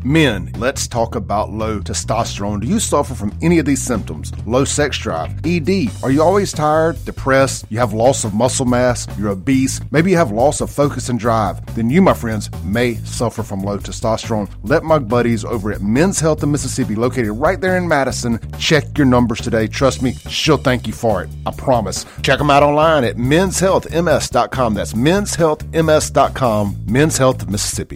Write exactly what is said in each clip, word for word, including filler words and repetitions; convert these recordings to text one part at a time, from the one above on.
Men, let's talk about low testosterone. Do you suffer from any of these symptoms? Low sex drive, E D. Are you always tired, depressed? You have loss of muscle mass? You're obese? Maybe you have loss of focus and drive? Then you, my friends, may suffer from low testosterone. Let my buddies over at Men's Health in Mississippi, located right there in Madison, check your numbers today. Trust me, she'll thank you for it. I promise. Check them out online at mens health m s dot com. That's mens health m s dot com. Men's Health Mississippi.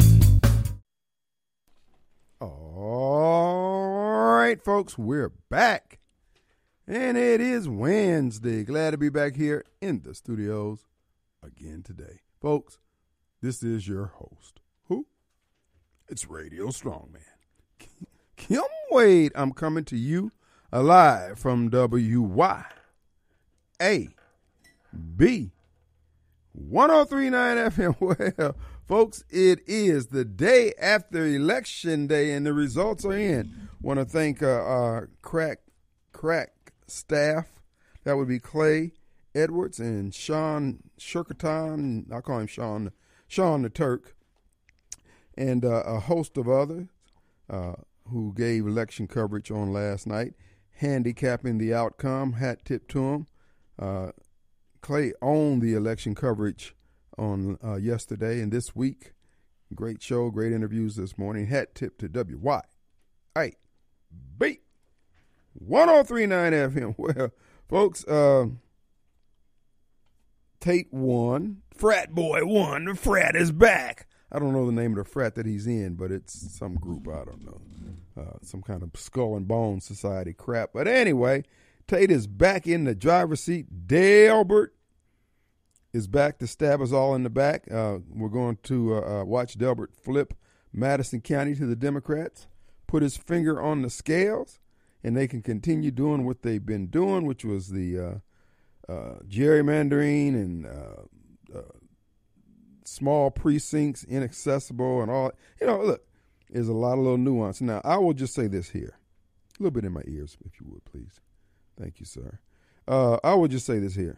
All right, folks, we're back. And it is Wednesday. Glad to be back here in the studios again today. Folks, this is your host. Who? It's Radio Strongman. Kim Wade. I'm coming to you live from W Y A B one oh three point nine F M. Well, folks, it is the day after Election Day, and the results are in. Want to thank uh, our crack, crack staff. That would be Clay Edwards and Sean Shirkaton. I call him Sean, Sean the Turk, and uh, a host of others uh, who gave election coverage on last night, handicapping the outcome. Hat tip to him. Uh, Clay owned the election coverage on uh, yesterday and this week. Great show, great interviews this morning. Hat tip to W Y A B one oh three point nine F M. Well, folks, uh, Tate won. Frat boy won. The frat is back. I don't know the name of the frat that he's in, but it's some group. I don't know. Uh, some kind of skull and bone society crap. But anyway, Tate is back in the driver's seat. Delbert is back to stab us all in the back. Uh, we're going to uh, uh, watch Delbert flip Madison County to the Democrats, put his finger on the scales, and they can continue doing what they've been doing, which was the uh, uh, gerrymandering and uh, uh, small precincts, inaccessible, and all. You know, look, there's a lot of little nuance. Now, I will just say this here. A little bit in my ears, if you would, please. Thank you, sir. Uh, I will just say this here.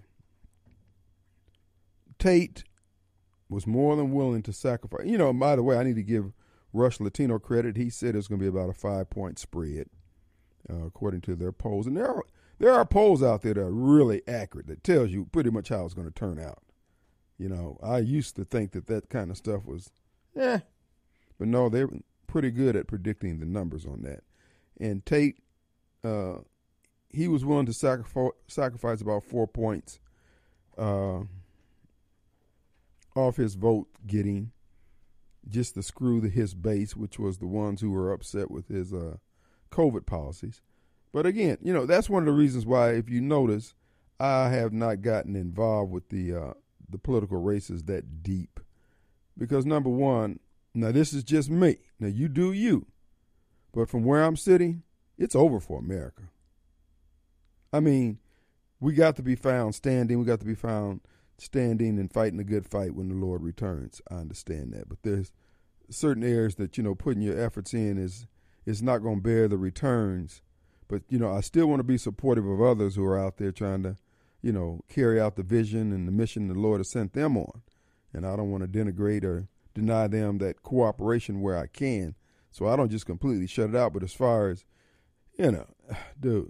Tate was more than willing to sacrifice. You know, by the way, I need to give Rush Latino credit. He said it's going to be about a five-point spread, uh, according to their polls. And there are, there are polls out there that are really accurate that tells you pretty much how it's going to turn out. You know, I used to think that that kind of stuff was, eh. But no, they're pretty good at predicting the numbers on that. And Tate, uh, he was willing to sacrifice, sacrifice about four points uh, off his vote getting, just to screw the, his base, which was the ones who were upset with his uh, COVID policies. But again, you know, that's one of the reasons why, if you notice, I have not gotten involved with the uh, the political races that deep. Because number one, now this is just me. Now you do you. But from where I'm sitting, it's over for America. I mean, we got to be found standing. We got to be found standing and fighting a good fight when the Lord returns. I understand that. But there's certain areas that, you know, putting your efforts in is is not going to bear the returns. But, you know, I still want to be supportive of others who are out there trying to, you know, carry out the vision and the mission the Lord has sent them on. And I don't want to denigrate or deny them that cooperation where I can. So I don't just completely shut it out. But as far as, you know, dude,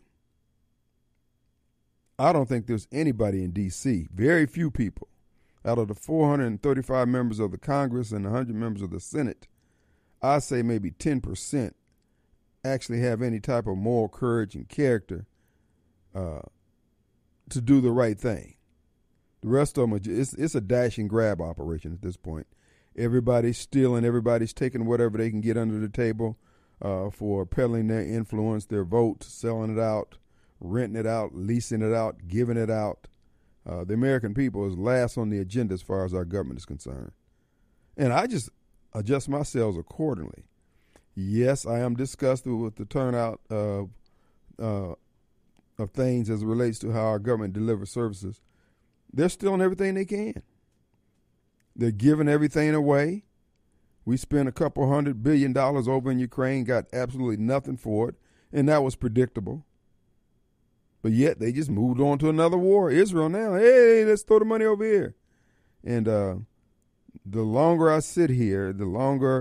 I don't think there's anybody in D C, very few people, out of the four hundred thirty-five members of the Congress and one hundred members of the Senate, I say maybe ten percent actually have any type of moral courage and character uh, to do the right thing. The rest of them, are just, it's, it's a dash and grab operation at this point. Everybody's stealing, everybody's taking whatever they can get under the table uh, for peddling their influence, their vote, selling it out, renting it out, leasing it out, giving it out. Uh, the American people is last on the agenda as far as our government is concerned. And I just adjust my sails accordingly. Yes, I am disgusted with the turnout of, uh, of things as it relates to how our government delivers services. They're stealing everything they can. They're giving everything away. We spent a couple hundred billion dollars over in Ukraine, got absolutely nothing for it, and that was predictable. But yet they just moved on to another war. Israel now, hey, let's throw the money over here. And uh, the longer I sit here, the longer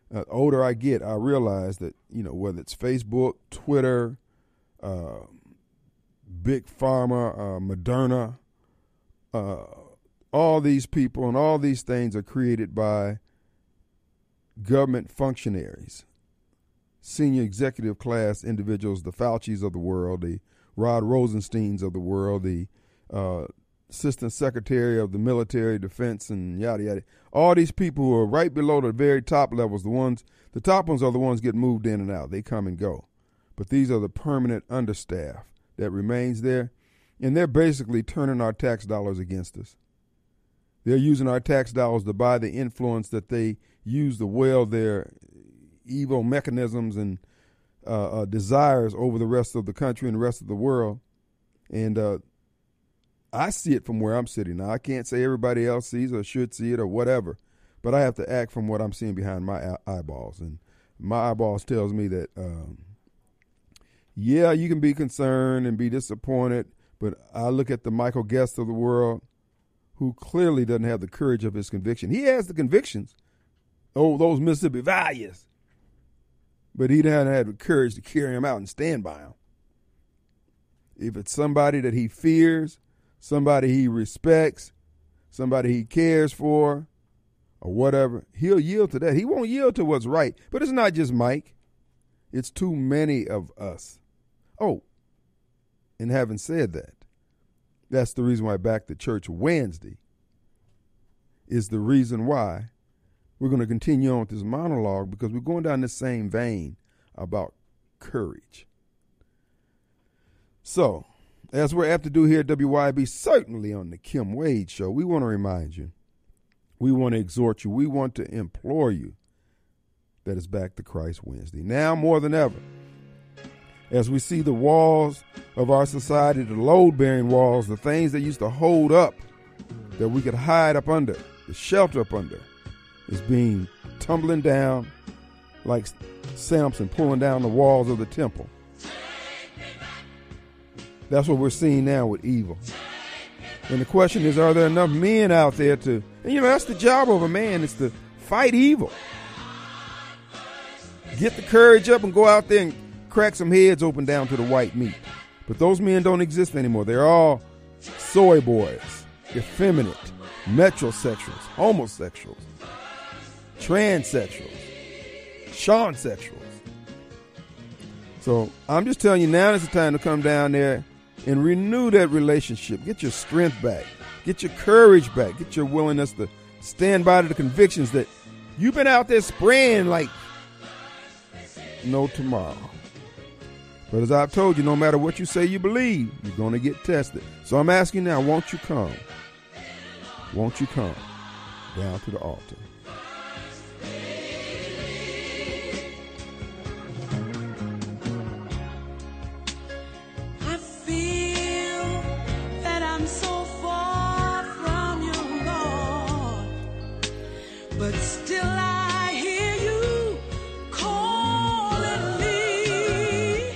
uh, older I get, I realize that, you know, whether it's Facebook, Twitter, uh, Big Pharma, uh, Moderna, uh, all these people and all these things are created by government functionaries, senior executive class individuals, the Faucis of the world, the Rod Rosensteins of the world, the uh, assistant secretary of the military defense, and yada, yada. All these people who are right below the very top levels, the ones, the top ones are the ones get moved in and out. They come and go. But these are the permanent understaff that remains there, and they're basically turning our tax dollars against us. They're using our tax dollars to buy the influence that they use to wield their evil mechanisms and uh, uh, desires over the rest of the country and the rest of the world. And uh, I see it from where I'm sitting. Now, I can't say everybody else sees or should see it or whatever, but I have to act from what I'm seeing behind my eyeballs. And my eyeballs tells me that, um, yeah, you can be concerned and be disappointed, but I look at the Michael Guest of the world, who clearly doesn't have the courage of his conviction. He has the convictions, oh, those Mississippi values, but he doesn't have the courage to carry them out and stand by them. If it's somebody that he fears, somebody he respects, somebody he cares for, or whatever, he'll yield to that. He won't yield to what's right. But it's not just Mike. It's too many of us. Oh, and having said that, that's the reason why Back to Church Wednesday is the reason why we're going to continue on with this monologue, because we're going down the same vein about courage. So, as we're apt to do here at W Y B, certainly on the Kim Wade Show, we want to remind you, we want to exhort you, we want to implore you that it's Back to Christ Wednesday. Now more than ever, as we see the walls of our society, the load-bearing walls, the things that used to hold up, that we could hide up under, the shelter up under, is being tumbling down like Samson pulling down the walls of the temple. That's what we're seeing now with evil. And the question is, are there enough men out there to, and you know, that's the job of a man, is to fight evil. Get the courage up and go out there and crack some heads open down to the white meat. But those men don't exist anymore. They're all soy boys, effeminate, metrosexuals, homosexuals, transsexuals, shawnsexuals. So I'm just telling you, now is the time to come down there and renew that relationship. Get your strength back. Get your courage back. Get your willingness to stand by to the convictions that you've been out there spraying like no tomorrow. But as I've told you, no matter what you say you believe, you're going to get tested. So I'm asking now, won't you come? Won't you come down to the altar? I feel that I'm so far from you, Lord, but still I hear you calling me.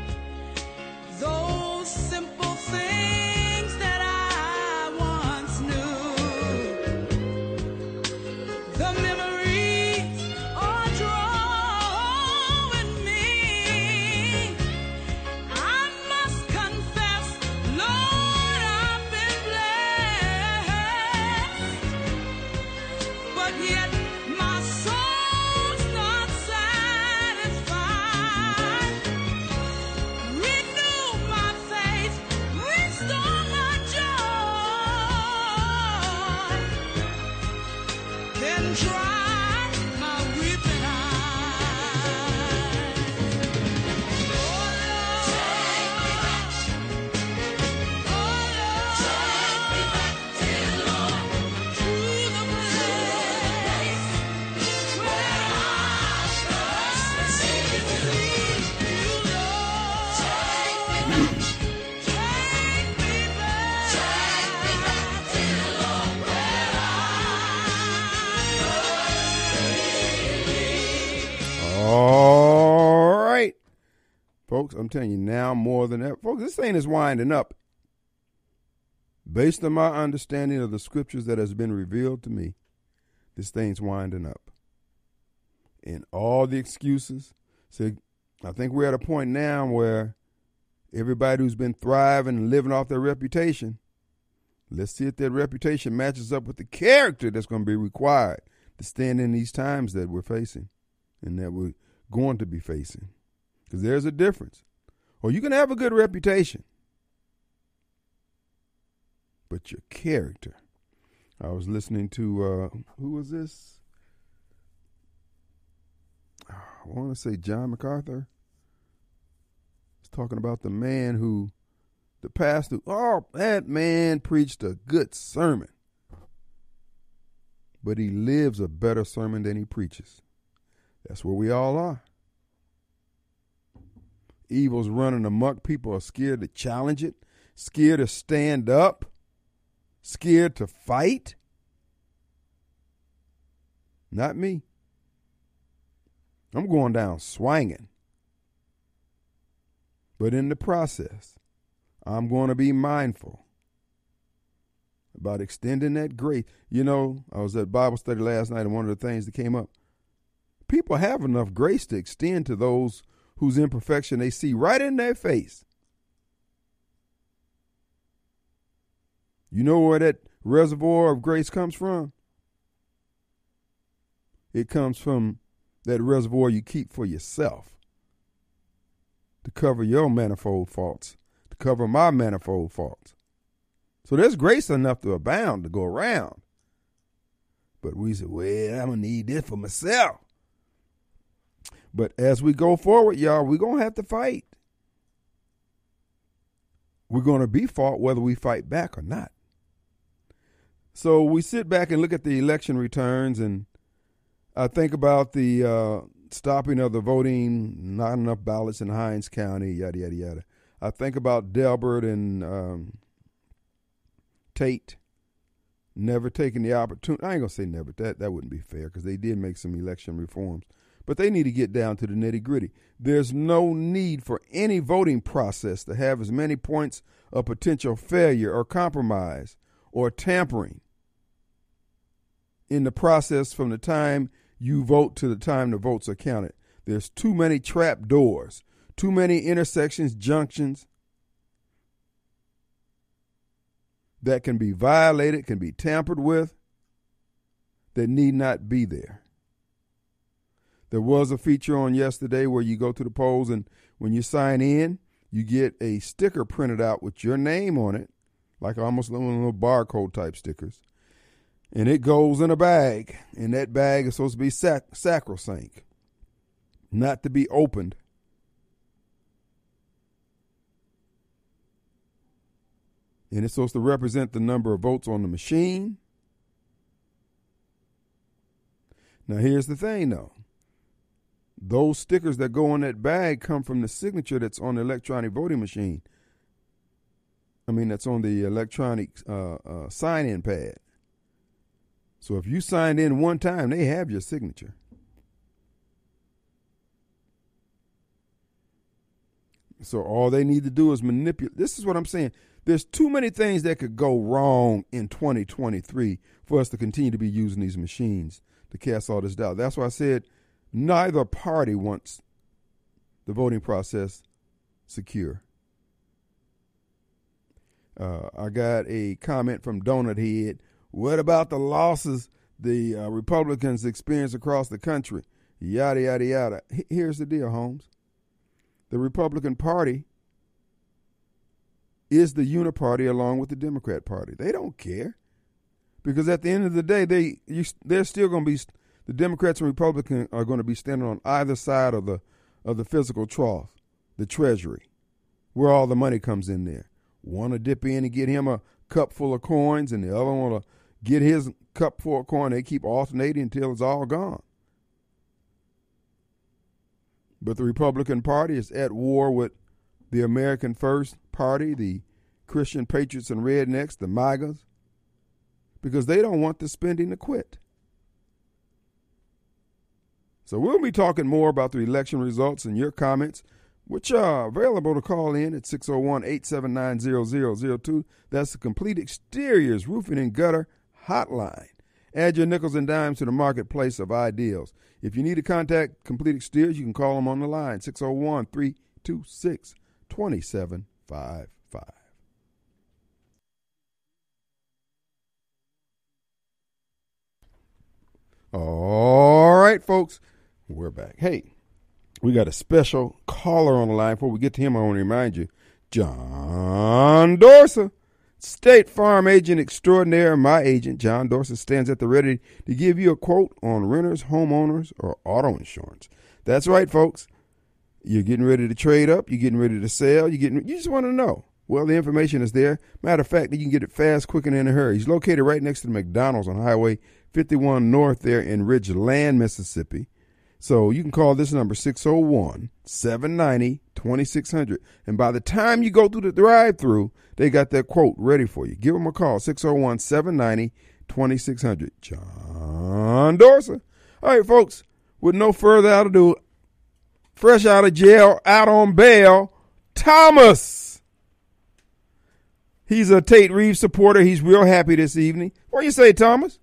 Those simple things that I once knew, the memories are drawing me. I must confess, Lord, I've been blessed, but yet my soul's not satisfied. Renew my faith, restore my joy, then dry my weeping eyes. Oh Lord, take me back. Oh Lord, take me back, dear Lord, to the place where I first received you, Lord. Take me back. Take me back. Take me back, dear Lord, where I All right. Folks, I'm telling you now more than ever. Folks, this thing is winding up. Based on my understanding of the scriptures that has been revealed to me, this thing's winding up. and all the excuses. So I think we're at a point now where everybody who's been thriving and living off their reputation, let's see if that reputation matches up with the character that's going to be required to stand in these times that we're facing and that we're going to be facing. Because there's a difference. Or you can have a good reputation, but your character. I was listening to, uh, who was this? I want to say John MacArthur. He's talking about the man who, the pastor, oh, that man preached a good sermon, but he lives a better sermon than he preaches. That's where we all are. Evil's running amok. People are scared to challenge it, scared to stand up, scared to fight. Not me. I'm going down swinging. But in the process, I'm going to be mindful about extending that grace. You know, I was at Bible study last night, and one of the things that came up, people have enough grace to extend to those whose imperfection they see right in their face. You know where that reservoir of grace comes from? It comes from that reservoir you keep for yourself to cover your manifold faults, to cover my manifold faults. So there's grace enough to abound, to go around. But we say, well, I'm going to need this for myself. But as we go forward, y'all, we're going to have to fight. We're going to be fought whether we fight back or not. So we sit back and look at the election returns, and I think about the uh, stopping of the voting, not enough ballots in Hinds County, yada, yada, yada. I think about Delbert and um, Tate never taking the opportunity. I ain't going to say never. That, that wouldn't be fair because they did make some election reforms. But they need to get down to the nitty-gritty. There's no need for any voting process to have as many points of potential failure or compromise or tampering in the process from the time you vote to the time the votes are counted. There's too many trap doors, too many intersections, junctions that can be violated, can be tampered with, that need not be there. There was a feature on yesterday where you go to the polls, and when you sign in, you get a sticker printed out with your name on it, like almost little, little barcode type stickers. And it goes in a bag, and that bag is supposed to be sac- sacrosanct, not to be opened. And it's supposed to represent the number of votes on the machine. Now, here's the thing, though. Those stickers that go on that bag come from the signature that's on the electronic voting machine. I mean, that's on the electronic uh, uh, sign-in pad. So if you signed in one time, they have your signature. So all they need to do is manipulate. This is what I'm saying. There's too many things that could go wrong in twenty twenty-three for us to continue to be using these machines to cast all this doubt. That's why I said neither party wants the voting process secure. Uh, I got a comment from Donut Head. What about the losses the uh, Republicans experience across the country? Yada, yada, yada. H- here's the deal, Holmes. The Republican Party is the uniparty along with the Democrat Party. They don't care. Because at the end of the day, they you, they're still going to be, the Democrats and Republicans are going to be standing on either side of the of the physical trough, the Treasury, where all the money comes in there. One to dip in and get him a cup full of coins, and the other one to get his cup full of coin. They keep alternating until it's all gone. But the Republican Party is at war with the American First Party, the Christian Patriots and Rednecks, the MAGAs, because they don't want the spending to quit. So we'll be talking more about the election results and your comments, which are available to call in at six oh one, eight seven nine, zero zero zero two. That's the Complete Exteriors Roofing and Gutter Hotline. Add your nickels and dimes to the marketplace of ideals. If you need to contact Complete Exteriors, you can call them on the line, six oh one, three two six, two seven five five. All right, folks, we're back. Hey, we got a special caller on the line. Before we get to him, I want to remind you, John Dorsa, State Farm Agent Extraordinaire, my agent, John Dorsa, stands at the ready to give you a quote on renters, homeowners, or auto insurance. That's right, folks. You're getting ready to trade up. You're getting ready to sell. You're getting. You just want to know. Well, the information is there. Matter of fact, you can get it fast, quick, and in a hurry. He's located right next to the McDonald's on Highway fifty-one North there in Ridgeland, Mississippi. So you can call this number, six oh one, seven nine zero, two six zero zero. And by the time you go through the drive-through, they got that quote ready for you. Give them a call, six oh one, seven nine zero, two six zero zero. John Dorsa. All right, folks, with no further ado, fresh out of jail, out on bail, Thomas. He's a Tate Reeves supporter. He's real happy this evening. What do you say, Thomas?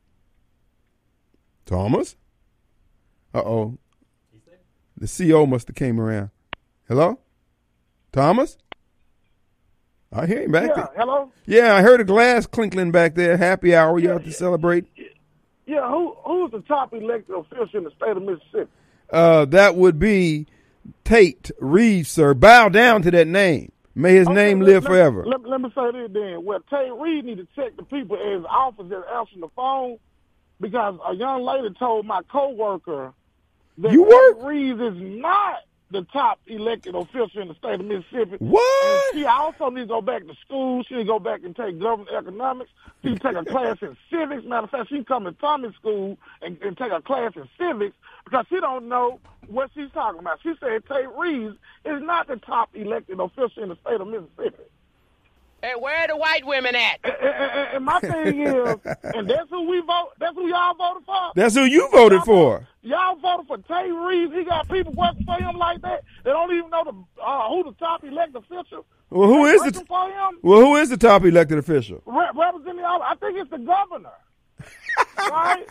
Thomas? Uh-oh. The C O must have came around. Hello? Thomas? I hear him back Yeah, there. hello? Yeah, I heard a glass clinkling back there. Happy hour. You Yeah, out to celebrate? Yeah, who who's the top elected official in the state of Mississippi? Uh, that would be Tate Reeves, sir. Bow down to that name. May his Okay, name let- live let- forever. Let, let me say this then. Well, Tate Reeves need to check the people in his office that answering the phone because a young lady told my coworker that You Tate work? Reeves is not the top elected official in the state of Mississippi. What? And she also needs to go back to school. She need to go back and take government economics. She need to take a class in civics. Matter of fact, she come to Tommy's school and, and take a class in civics because she don't know what she's talking about. She said Tate Reeves is not the top elected official in the state of Mississippi. Hey, where are the white women at? And, and, and my thing is, and that's who we vote. That's who y'all voted for. That's who you voted Y'all for. voted- Y'all voted for Tate Reeves. He got people working for him like that. They don't even know the uh, who the top elected official. Well, who They is working the for him? Well, who is the top elected official? Re- representing all, I think it's the governor. Right?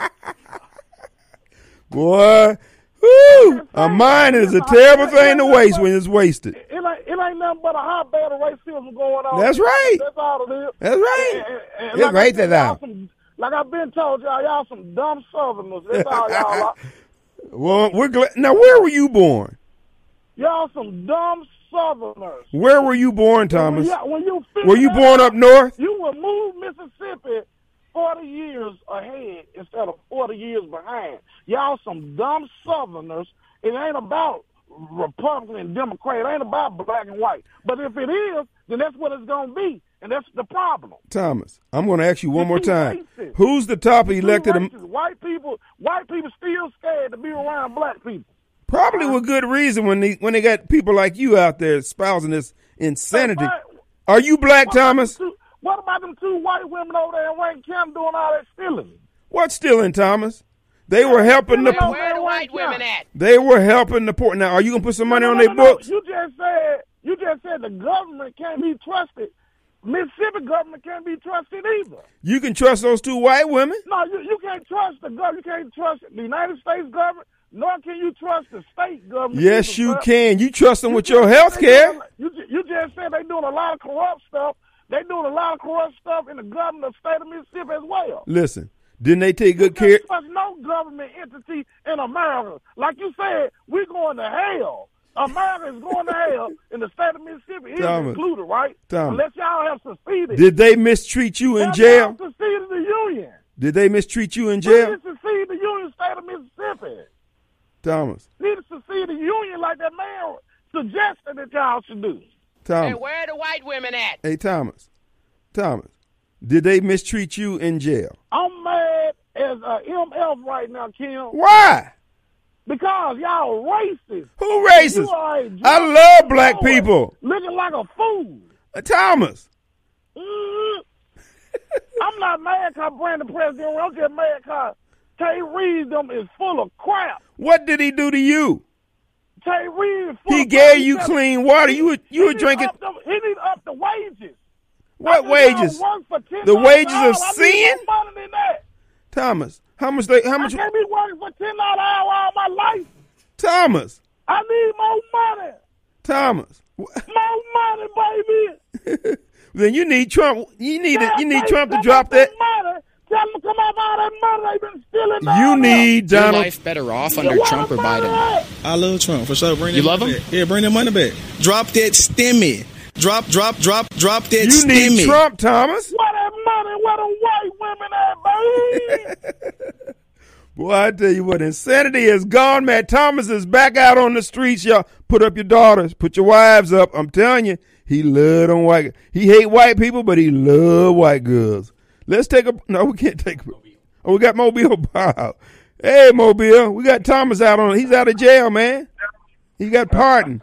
Boy, whoo, a mind is a terrible thing to waste when it's wasted. It ain't, it ain't nothing but a hotbed of racism going on. That's right. That's all it is. That's right. And- and- and It's like I right said, there y'all now. some- Like I've been told y'all, y'all some dumb Southerners. That's all y'all are. Well, we're glad. Now, where were you born? Y'all some dumb Southerners. Where were you born, When Thomas? you, when you Were you figure born that up out, north? You will move Mississippi forty years ahead instead of forty years behind. Y'all some dumb Southerners. It ain't about Republican and Democrat. It ain't about black and white. But if it is, then that's what it's going to be. And that's the problem. Thomas, I'm going to ask you one more too time. racist. Who's the top Too elected? am- racist. White people, white people still scared to be around black people. Probably with good reason when they when they got people like you out there espousing this insanity. Hey, what- Are you black, what about Thomas? them two- What about them two white women over there in Wayne County doing all that stealing? What's stealing, Thomas? They were helping the Hey, poor. Where are the white women at? They were helping the poor. Now, are you gonna put some money No, on no, their no, no. books? You just said you just said the government can't be trusted. Mississippi government can't be trusted either. You can trust those two white women? No, you, you can't trust the government. You can't trust the United States government, nor can you trust the state government. Yes, either, you sir. can. You trust them You with just your said health they care. doing- You, ju- you just said they doing a lot of corrupt stuff. They doing a lot of corrupt stuff in the government of the state of Mississippi as well. Listen, didn't they take good You care? can't trust no government entity in America. Like you said, we're going to hell. America is going to hell, and the state of Mississippi is Thomas, included, right? Thomas. Unless y'all have seceded. Did they mistreat you in Have jail? y'all seceded the union. Did they mistreat you in We jail, need to secede the union state of Mississippi. Thomas? Need to secede the union like that man suggested that y'all should do. Hey, Thomas. where are the white women at? Hey, Thomas. Thomas. Did they mistreat you in jail? I'm mad as a M F right now, Kim, Why? because y'all racist. Who You racist? are a I drunk love black boy, people. looking like a fool. Uh, Thomas. Mm. I'm not mad because Brandon President. I'm just mad because Tay Reeves them is full of crap. What did he do to you? Tay Reeves is full He of gave crap. you said- clean water. You were you he were need drinking up the- he need to up the wages. what I think y'all wages? work for ten The dollars wages an hour. of I need sin? more money than that. Thomas, how much they? How I much? can't be working for ten dollars an hour all my life. Thomas, I need more money. Thomas. More money, baby. Then you need Trump. You need Tell- you need tell- Trump to tell drop them that. Money. Tell them to come off all that money they've been stealing. You down need Your Donald. life better off there. under Where Trump the or money Biden? at? I love Trump for sure. Bring You that love money him? back. Yeah, bring that money back. Drop that stimmy. Drop, drop, drop, drop that You stimmy. need Trump, Thomas. Where that money? Where the white women at, baby? Boy, I tell you what, insanity is gone, man. Thomas is back out on the streets, y'all. Put up your daughters, put your wives up. I'm telling you, he love them white. He hate white people, but he love white girls. Let's take a no. We can't take. Oh, we got Mobile. Wow. Hey, Mobile, we got Thomas out on. He's out of jail, man. He got pardoned.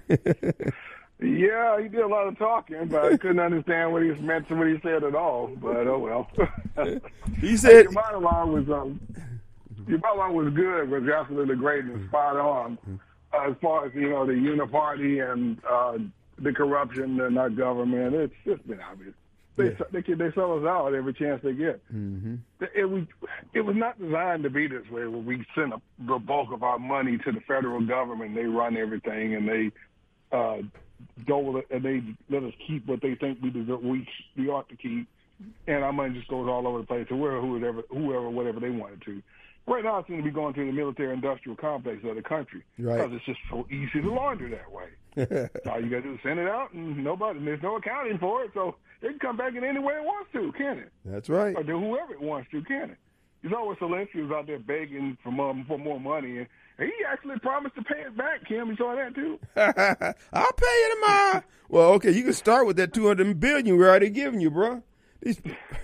Yeah, he did a lot of talking, but I couldn't understand what he meant to what he said at all. But oh well. He said, Your monologue was um, your monologue was good, was absolutely great and spot on. Uh, as far as you know, the uniparty and uh, the corruption in our government, it's just been obvious. They Yeah. they they sell us out every chance they get. mm-hmm. It was it was not designed to be this way, where we send a, the bulk of our money to the federal government. They run everything, and they uh, dole it, and they let us keep what they think we deserve, we we ought to keep, and our money just goes all over the place to where whoever whoever whatever they wanted to. Right now, it seems to be going to the military-industrial complex of the country Right. because it's just so easy to launder that way. All you got to do is send it out, and nobody and there's no accounting for it, so it can come back in any way it wants to, can it? That's right. Or do whoever it wants to, can it? There's always Zelensky who's out there begging for more, for more money, and he actually promised to pay it back, Kim. You saw that, too? I'll pay you tomorrow. Well, okay, you can start with that two hundred billion we're already giving you, bro. These,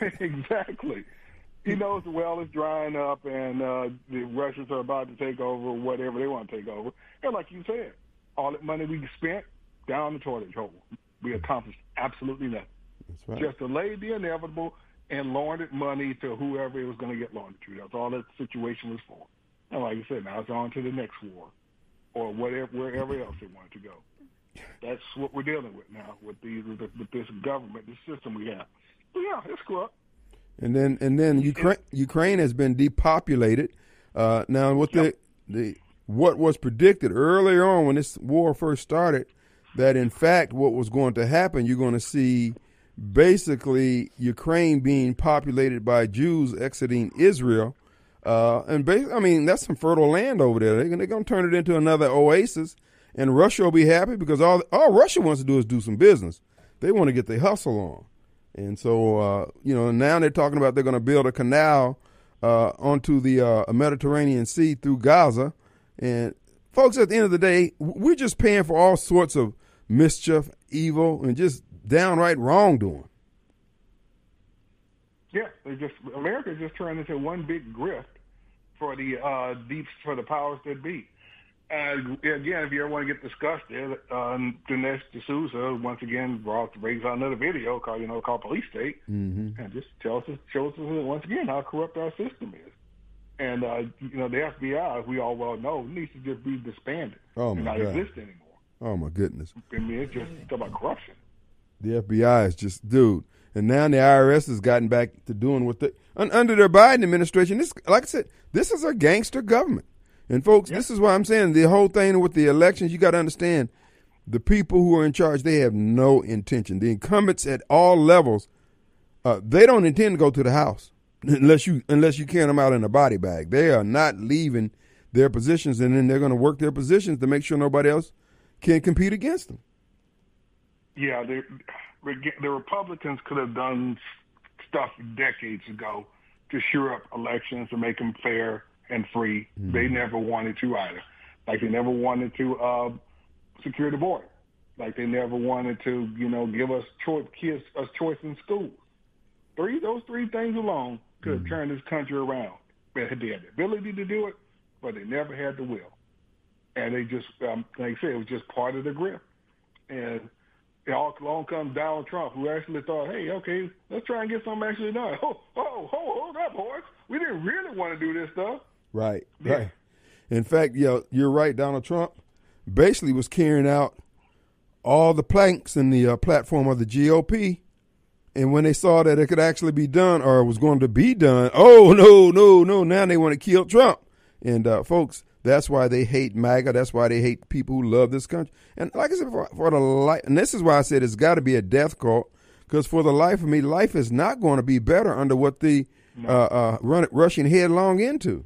Exactly. He knows the well is drying up, and uh, the Russians are about to take over whatever they want to take over. And like you said, all that money we spent down the toilet hole. We accomplished absolutely nothing. that's right. Just delayed the inevitable and laundered money to whoever it was going to get laundered to. That's all that situation was for. And like I said, now it's on to the next war or whatever, wherever else they wanted to go. That's what we're dealing with now with these with, with this government, this system we have. But yeah, it's corrupt. And then and then Ukraine Ukraine has been depopulated. Uh, now, what the the what was predicted earlier on when this war first started, that in fact what was going to happen, you're going to see basically Ukraine being populated by Jews exiting Israel. Uh, and basically, I mean, that's some fertile land over there. They're, they're going to turn it into another oasis, and Russia will be happy because all all Russia wants to do is do some business. They want to get their hustle on. And so, uh, you know, now they're talking about they're going to build a canal uh, onto the uh, Mediterranean Sea through Gaza. And folks, at the end of the day, we're just paying for all sorts of mischief, evil, and just downright wrongdoing. Yeah, they just America just turned into one big grift for the uh, deep for the powers that be. And again, if you ever want to get disgusted, um, Dinesh D'Souza once again brought raised out another video called you know called Police State, Mm-hmm. and just tells us shows us once again how corrupt our system is. And uh, you know the F B I, as we all well know, needs to just be disbanded Oh, and my not God. exist anymore. Oh, my goodness. I mean, it's just it's about corruption. The F B I is just, dude. And now the I R S has gotten back to doing what they, un, under their Biden administration, this, like I said, this is a gangster government. And folks, this is why I'm saying the whole thing with the elections, you got to understand the people who are in charge, they have no intention. The incumbents at all levels, uh, they don't intend to go to the House unless you unless you carry them out in a body bag. They are not leaving their positions, and then they're going to work their positions to make sure nobody else can compete against them. Yeah, the the Republicans could have done stuff decades ago to shore up elections to make them fair and free. Mm-hmm. They never wanted to either. Like they never wanted to uh, secure the border. Like they never wanted to, you know, give us choice, kids us choice in schools. Three, those three things alone could have mm-hmm. turned this country around. They had the ability to do it, but they never had the will. And they just, um, like I said, it was just part of the grip. And it all along comes Donald Trump, who actually thought, hey, okay, let's try and get something actually done. Oh, oh, oh, hold up, boys. We didn't really want to do this stuff. Right, Yeah. right. In fact, yeah, you're right. Donald Trump basically was carrying out all the planks in the uh, platform of the G O P, And when they saw that it could actually be done or was going to be done, oh, no, no, no. Now they want to kill Trump. And, uh, folks, that's why they hate MAGA. That's why they hate people who love this country. And like I said, for, for the life, and this is why I said it's got to be a death cult, because for the life of me, life is not going to be better under what the No. uh, uh, run, rushing headlong into.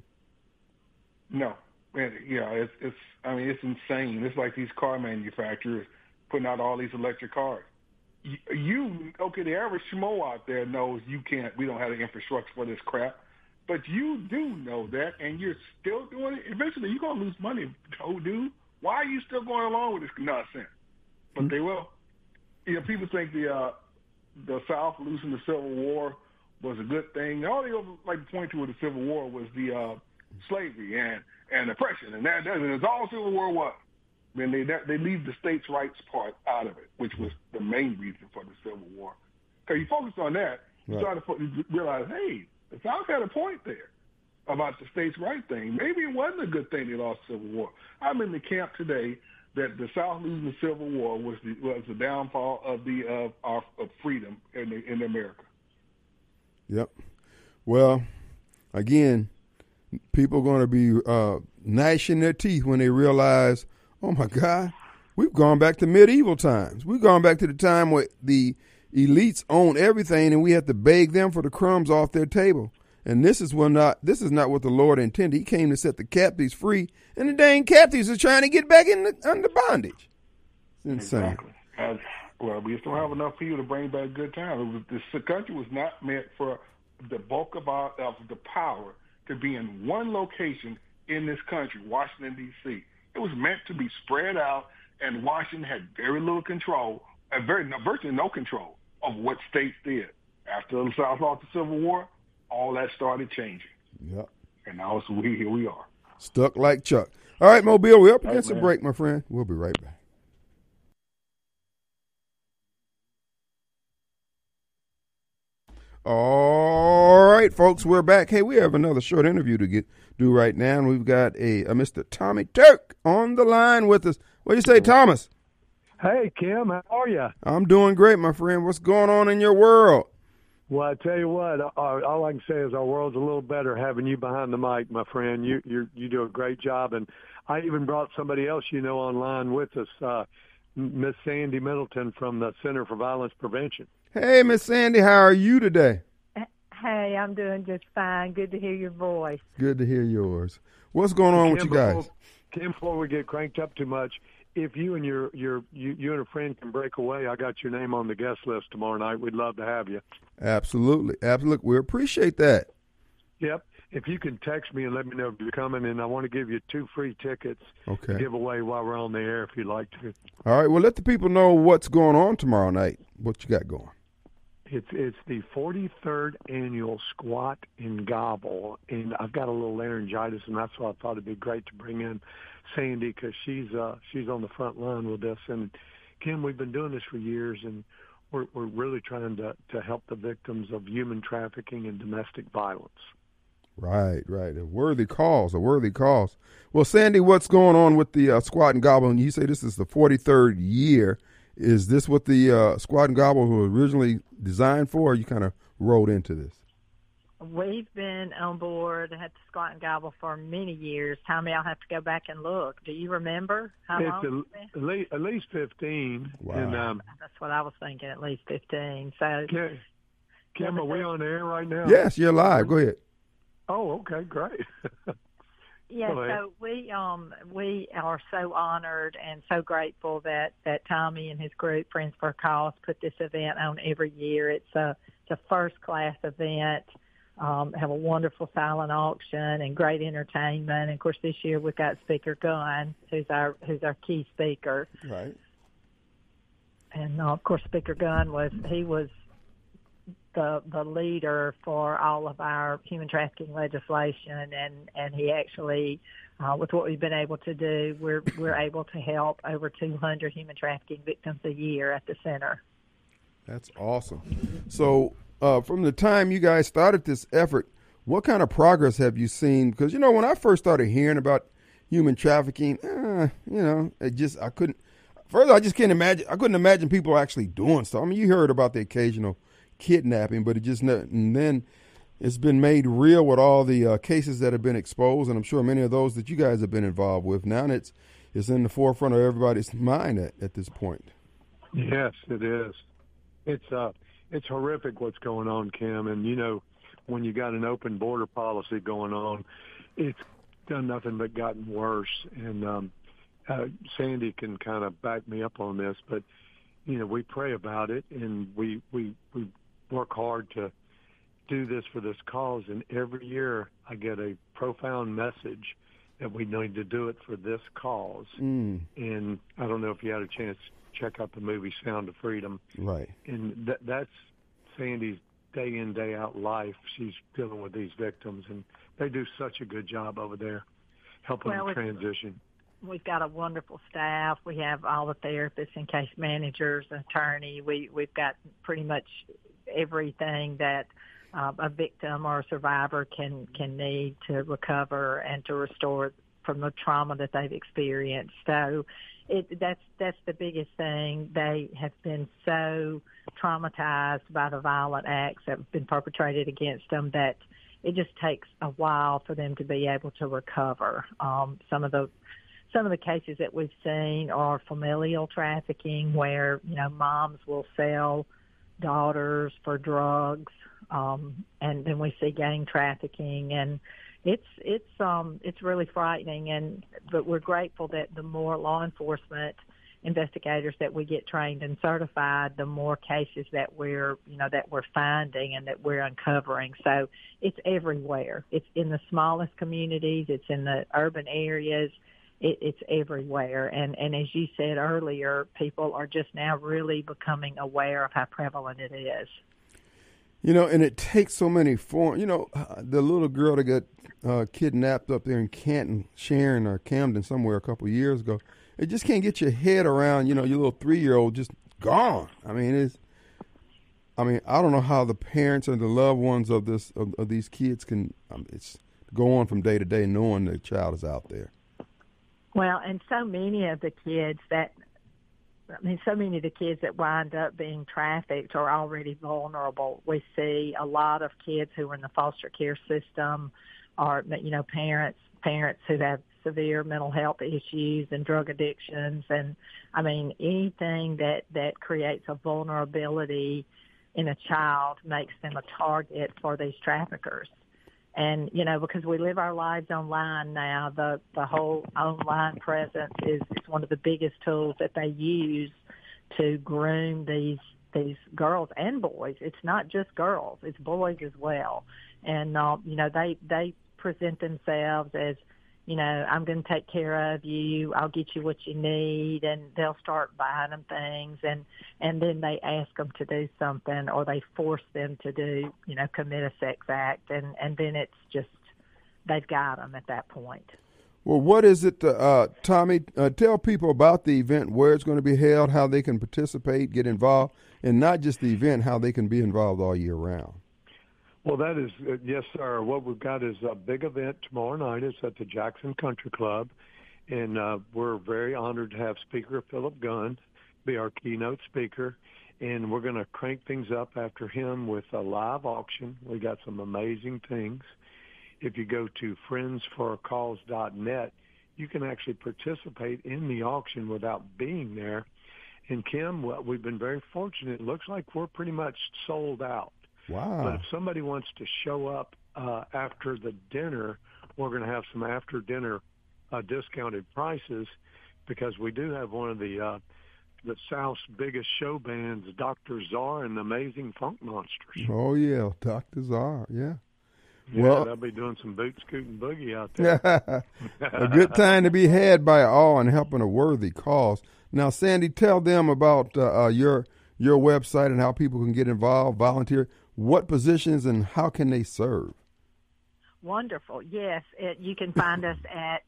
No. Man, yeah, it's, it's, I mean, it's insane. It's like these car manufacturers putting out all these electric cars. You, you okay, the average schmo out there knows you can't, we don't have the infrastructure for this crap. But you do know that, and you're still doing it. Eventually, you're going to lose money, oh, dude. Why are you still going along with this nonsense? But they will. You know, people think the uh, the South losing the Civil War was a good thing. All they like to point to with the Civil War was the uh, slavery and, and oppression, and that, that is all Civil War was. I mean, they they leave the states' rights part out of it, which was the main reason for the Civil War. Because you focus on that, you Right. start to fo- you realize, hey, the South had a point there about the states' right thing. Maybe it wasn't a good thing they lost the Civil War. I'm in the camp today that the South losing the Civil War was the was the downfall of the uh, of, of freedom in the, in America. Yep. Well, again, people are going to be uh, gnashing their teeth when they realize, oh, my God, we've gone back to medieval times. We've gone back to the time where the elites own everything and we have to beg them for the crumbs off their table. And this is what not this is not what the Lord intended. He came to set the captives free, and the dang captives are trying to get back in the, under bondage. It's insane. Exactly. As, well, we just don't have enough people to bring back good times. It was, this country was not meant for the bulk of, our, of the power to be in one location in this country, Washington, D C It was meant to be spread out, and Washington had very little control, and very no, virtually no control of what states did. After the South lost the Civil War, all that started changing. Yep. And now it's we here we are. Stuck like Chuck. All right, Mobile, we're up Right, against a man. break, my friend. We'll be right back. All right, folks, we're back. Hey, we have another short interview to get do right now, and we've got a, a Mister Tommy Turk on the line with us. What do you say, Thomas? Hey, Kim, how are you? I'm doing great, my friend. What's going on in your world? Well, I tell you what, all, all I can say is our world's a little better having you behind the mic, my friend. You you you do a great job, and I even brought somebody else you know online with us, uh, Miss Sandy Middleton from the Center for Violence Prevention. Hey, Miss Sandy, how are you today? Hey, I'm doing just fine. Good to hear your voice. Good to hear yours. What's going on with Kim, you guys? Before, Kim, before we get cranked up too much, if you and your your you, you and a friend can break away, I got your name on the guest list tomorrow night. We'd love to have you. Absolutely, absolutely. We appreciate that. Yep. If you can text me and let me know if you're coming, and I want to give you two free tickets Okay. to give away while we're on the air if you'd like to. All right. Well, let the people know what's going on tomorrow night. What you got going? It's it's the forty-third annual Squat and Gobble, and I've got a little laryngitis, and that's why I thought it'd be great to bring in Sandy because she's uh, she's on the front line with us. And Kim, we've been doing this for years, and we're we're really trying to to help the victims of human trafficking and domestic violence. Right, right. A worthy cause, a worthy cause. Well, Sandy, what's going on with the uh, Squat and Gobble? And you say this is the forty-third year. Is this what the uh, Squat and Gobble was originally designed for, or you kind of rolled into this? We've been on board at the Squat and Gobble for many years. Tommy, I'll have to go back and look. Do you remember how It's long? at, at, least, at least fifteen. Wow. And um, That's what I was thinking, at least fifteen. So, Kim, Kim, are we on the air right now? Yes, you're live. Go ahead. Oh, okay, great. yeah, Go ahead. so we um we are so honored and so grateful that, that Tommy and his group, Friends for a Cause, put this event on every year. It's a, it's a first-class event. Um, have a wonderful silent auction and great entertainment. And of course, this year we've got Speaker Gunn, who's our who's our key speaker. Right. And uh, of course, Speaker Gunn was he was the the leader for all of our human trafficking legislation, and and he actually, uh, with what we've been able to do, we're we're able to help over two hundred human trafficking victims a year at the center. That's awesome. So, uh, from the time you guys started this effort, what kind of progress have you seen? Because, you know, when I first started hearing about human trafficking, eh, you know, it just, I couldn't, first I just can't imagine, I couldn't imagine people actually doing stuff. I mean, you heard about the occasional kidnapping, but it just ne- and then it's been made real with all the uh, cases that have been exposed, and I'm sure many of those that you guys have been involved with. Now it's it's in the forefront of everybody's mind at, at this point. Yes, it is. It's uh, it's horrific what's going on, Kim. And you know, when you got an open border policy going on, it's done nothing but gotten worse. And um, uh, Sandy can kind of back me up on this, but you know, we pray about it, and we we we work hard to do this for this cause. And every year, I get a profound message that we need to do it for this cause. Mm. And I don't know if you had a chance to check out the movie Sound of Freedom. Right. And th- that's Sandy's day in, day out life. She's dealing with these victims, and they do such a good job over there helping Well, them transition. We've got a wonderful staff. We have all the therapists and case managers, attorney. We, we've got pretty much everything that uh, a victim or a survivor can, can need to recover and to restore from the trauma that they've experienced. So it, that's that's the biggest thing. They have been so traumatized by the violent acts that have been perpetrated against them that it just takes a while for them to be able to recover. Um, some of the some of the cases that we've seen are familial trafficking, where you know moms will sell daughters for drugs, um, and then we see gang trafficking, and it's it's um it's really frightening. And but we're grateful that the more law enforcement investigators that we get trained and certified, the more cases that we're you know that we're finding and that we're uncovering. So it's everywhere. It's in the smallest communities. It's in the urban areas. It, it's everywhere. And and as you said earlier, people are just now really becoming aware of how prevalent it is. You know, and it takes so many forms. You know, uh, the little girl that got uh, kidnapped up there in Canton, Sharon or Camden somewhere a couple of years ago, it just can't get your head around, you know, your little three-year-old just gone. I mean, it's, I mean, I don't know how the parents and the loved ones of this of, of these kids can um, it's go on from day to day knowing the child is out there. Well, and so many of the kids that, I mean, so many of the kids that wind up being trafficked are already vulnerable. We see a lot of kids who are in the foster care system are, you know, parents, parents who have severe mental health issues and drug addictions. And, I mean, anything that, that creates a vulnerability in a child makes them a target for these traffickers. And, you know, because we live our lives online now, the, the whole online presence is, is one of the biggest tools that they use to groom these these girls and boys. It's not just girls, it's boys as well. And, uh, you know, they, they present themselves as, you know, I'm going to take care of you, I'll get you what you need, and they'll start buying them things, and, and then they ask them to do something, or they force them to do, you know, commit a sex act, and, and then it's just, they've got them at that point. Well, what is it, uh, Tommy, uh, tell people about the event, where it's going to be held, how they can participate, get involved, and not just the event, how they can be involved all year round. Well, that is, uh, yes, sir. What we've got is a big event tomorrow night. It's at the Jackson Country Club, and uh, we're very honored to have Speaker Philip Gunn be our keynote speaker, and we're going to crank things up after him with a live auction. We got some amazing things. If you go to friends for a cause dot net, you can actually participate in the auction without being there. And, Kim, well, we've been very fortunate. It looks like we're pretty much sold out. Wow. But if somebody wants to show up uh, after the dinner, we're going to have some after-dinner uh, discounted prices, because we do have one of the uh, the South's biggest show bands, Doctor Czar and the Amazing Funk Monsters. Oh, yeah, Doctor Czar, yeah. Yeah, Well, they'll be doing some boot scooting boogie out there. a good time to be had by all and helping a worthy cause. Now, Sandy, tell them about uh, uh, your your website and how people can get involved, volunteer. What positions and how can they serve? Wonderful. Yes, it, you can find us at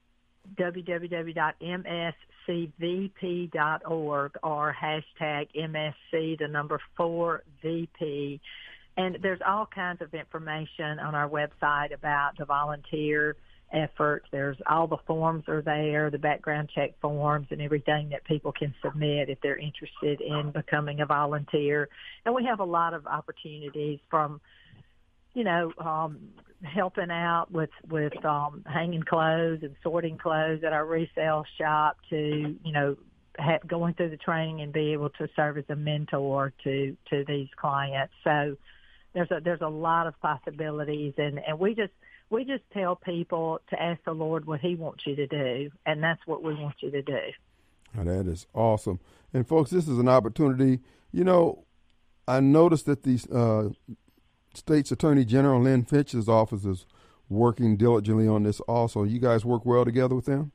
w w w dot m s c v p dot org or hashtag M S C, the number four V P. And there's all kinds of information on our website about the volunteer effort. There's all the forms are there, the background check forms and everything that people can submit if they're interested in becoming a volunteer. And we have a lot of opportunities from, you know, um, helping out with, with um, hanging clothes and sorting clothes at our resale shop to, you know, ha- going through the training and be able to serve as a mentor to, to these clients. So there's a, there's a lot of possibilities, and, and we just, we just tell people to ask the Lord what he wants you to do, and that's what we want you to do. Oh, that is awesome. And, folks, this is an opportunity. You know, I noticed that the uh, State's Attorney General Lynn Finch's office is working diligently on this also. You guys work well together with them?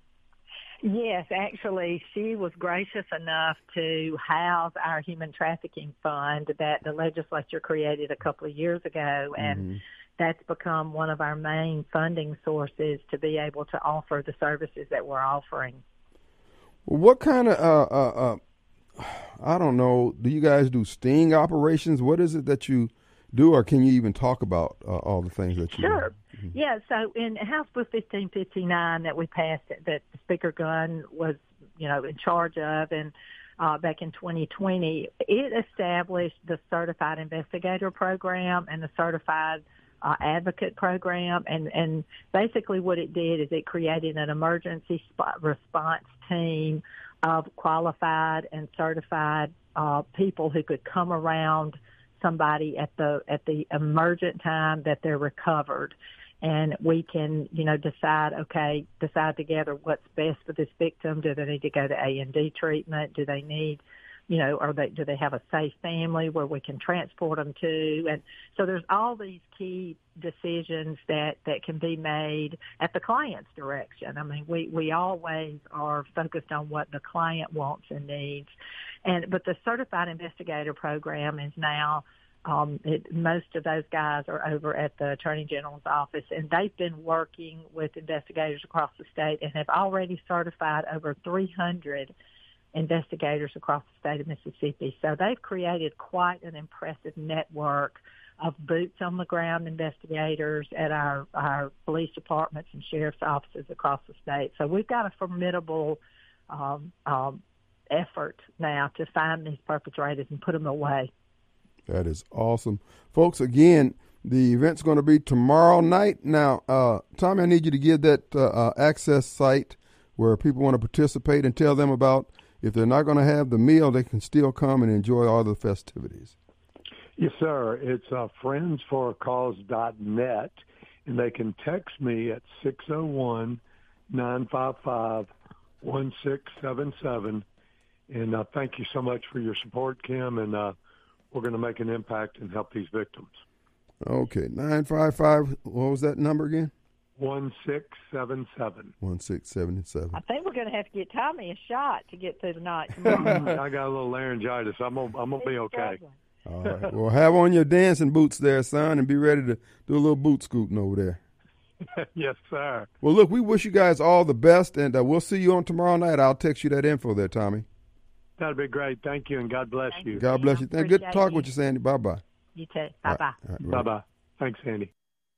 Yes, actually, she was gracious enough to house our human trafficking fund that the legislature created a couple of years ago, and mm-hmm. that's become one of our main funding sources to be able to offer the services that we're offering. Well, what kind of, uh, uh, uh, I don't know, do you guys do sting operations? What is it that you do, or can you even talk about uh, all the things that you Sure. do? Mm-hmm. Yeah, so in House Bill fifteen fifty-nine that we passed, that Speaker Gunn was, you know, in charge of, and uh, back in twenty twenty, it established the Certified Investigator Program and the Certified uh, Advocate Program, and, and basically what it did is it created an emergency spot response team of qualified and certified uh, people who could come around somebody at the at the emergent time that they're recovered, and we can, you know, decide okay decide together what's best for this victim. Do they need to go to A and D treatment? Do they need, you know, or they do they have a safe family where we can transport them to? And so there's all these key decisions that that can be made at the client's direction. I mean, we we always are focused on what the client wants and needs. And but the Certified Investigator Program is now, um, it, most of those guys are over at the Attorney General's office, and they've been working with investigators across the state and have already certified over three hundred investigators across the state of Mississippi. So they've created quite an impressive network of boots-on-the-ground investigators at our, our police departments and sheriff's offices across the state. So we've got a formidable um, um effort now to find these perpetrators and put them away. That is awesome. Folks, again, the event's going to be tomorrow night. Now, uh, Tommy, I need you to give that uh, uh, access site where people want to participate and tell them about if they're not going to have the meal, they can still come and enjoy all the festivities. Yes, sir. It's uh, friends for a cause dot net, and they can text me at six oh one, nine five five, one six seven seven. And uh, thank you so much for your support, Kim, and uh, we're going to make an impact and help these victims. Okay, nine five five, what was that number again? one six seven seven. one six seven seven. I think we're going to have to get Tommy a shot to get through the night I tomorrow. got a little laryngitis. I'm going I'm to be okay. All right, well, have on your dancing boots there, son, and be ready to do a little boot scooting over there. Yes, sir. Well, look, we wish you guys all the best, and uh, we'll see you on tomorrow night. I'll text you that info there, Tommy. That'd be great. Thank you, and God bless Thank you. you. God bless you. Thank, good to talk with you, Sandy. Bye-bye. You too. Bye-bye. All right, Bye-bye. Thanks, Sandy.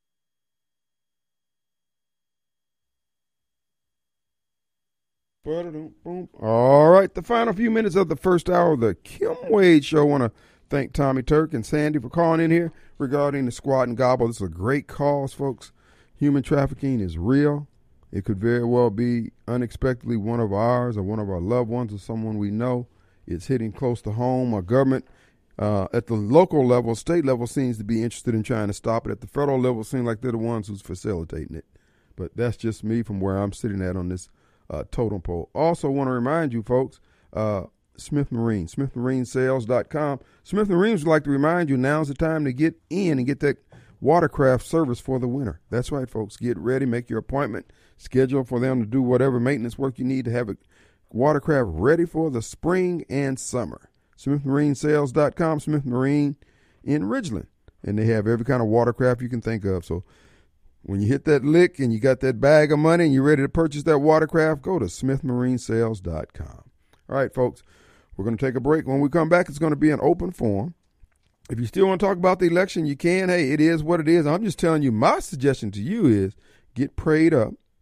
All right, the final few minutes of the first hour of the Kim Wade Show. I want to thank Tommy Turk and Sandy for calling in here regarding the squat and gobble. This is a great cause, folks. Human trafficking is real. It could very well be unexpectedly one of ours or one of our loved ones or someone we know. It's hitting close to home. Our government uh, at the local level, state level, seems to be interested in trying to stop it. At the federal level, seems like they're the ones who's facilitating it. But that's just me from where I'm sitting at on this uh, totem pole. Also want to remind you, folks, uh, Smith Marine, smith marine sales dot com. Smith Marines would like to remind you now's the time to get in and get that watercraft service for the winter. That's right, folks. Get ready, make your appointment, schedule for them to do whatever maintenance work you need to have a watercraft ready for the spring and summer. smith marine sales dot com, Smith Marine in Ridgeland. And they have every kind of watercraft you can think of. So when you hit that lick and you got that bag of money and you're ready to purchase that watercraft, go to smith marine sales dot com. All right, folks, we're going to take a break. When we come back, it's going to be an open forum. If you still want to talk about the election, you can. Hey, it is what it is. I'm just telling you, my suggestion to you is get prayed up,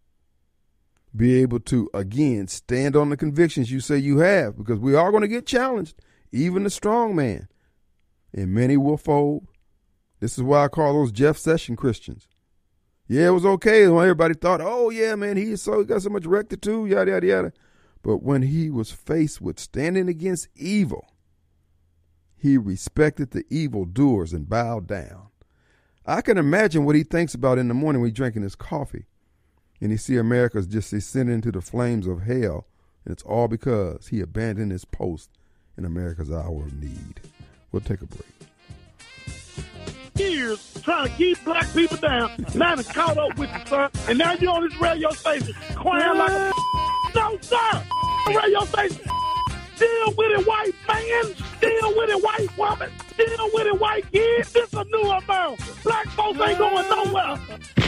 be able to, again, stand on the convictions you say you have, because we are going to get challenged, even the strong man, and many will fold. This is why I call those Jeff Sessions Christians. Yeah, it was okay when everybody thought, oh, yeah, man, he is so, he got so much rectitude, yada, yada, yada. But when he was faced with standing against evil, he respected the evildoers and bowed down. I can imagine what he thinks about in the morning when he's drinking his coffee and he see America's just descending into the flames of hell, and it's all because he abandoned his post in America's hour of need. We'll take a break. Years trying to keep black people down. Now it's caught up with you, sir. And now you're on this radio station crying like a no, sir. Radio station. Deal with it, white man. Deal with it, white woman. Deal with it, white kid. This is a new America. Black folks ain't going nowhere.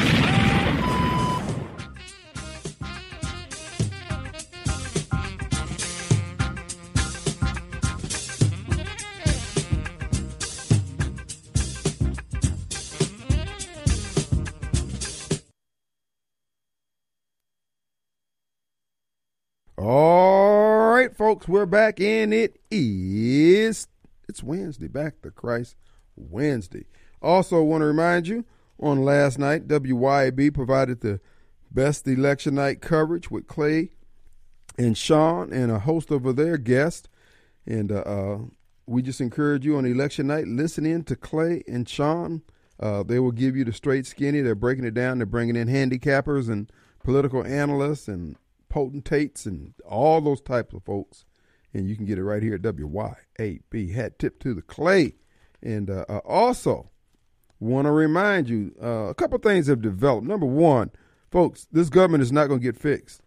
All right, folks, we're back, and it is, it's Wednesday, Back to Christ Wednesday. Also want to remind you, on last night, W Y A B provided the best election night coverage with Clay and Sean and a host of their guests. And uh, uh, we just encourage you on election night, listen in to Clay and Sean. Uh, they will give you the straight skinny. They're breaking it down. They're bringing in handicappers and political analysts and potentates and all those types of folks, and you can get it right here at W Y A B. Hat tip to the Clay. And uh, uh, also want to remind you, uh, a couple things have developed. Number one, folks, this government is not going to get fixed,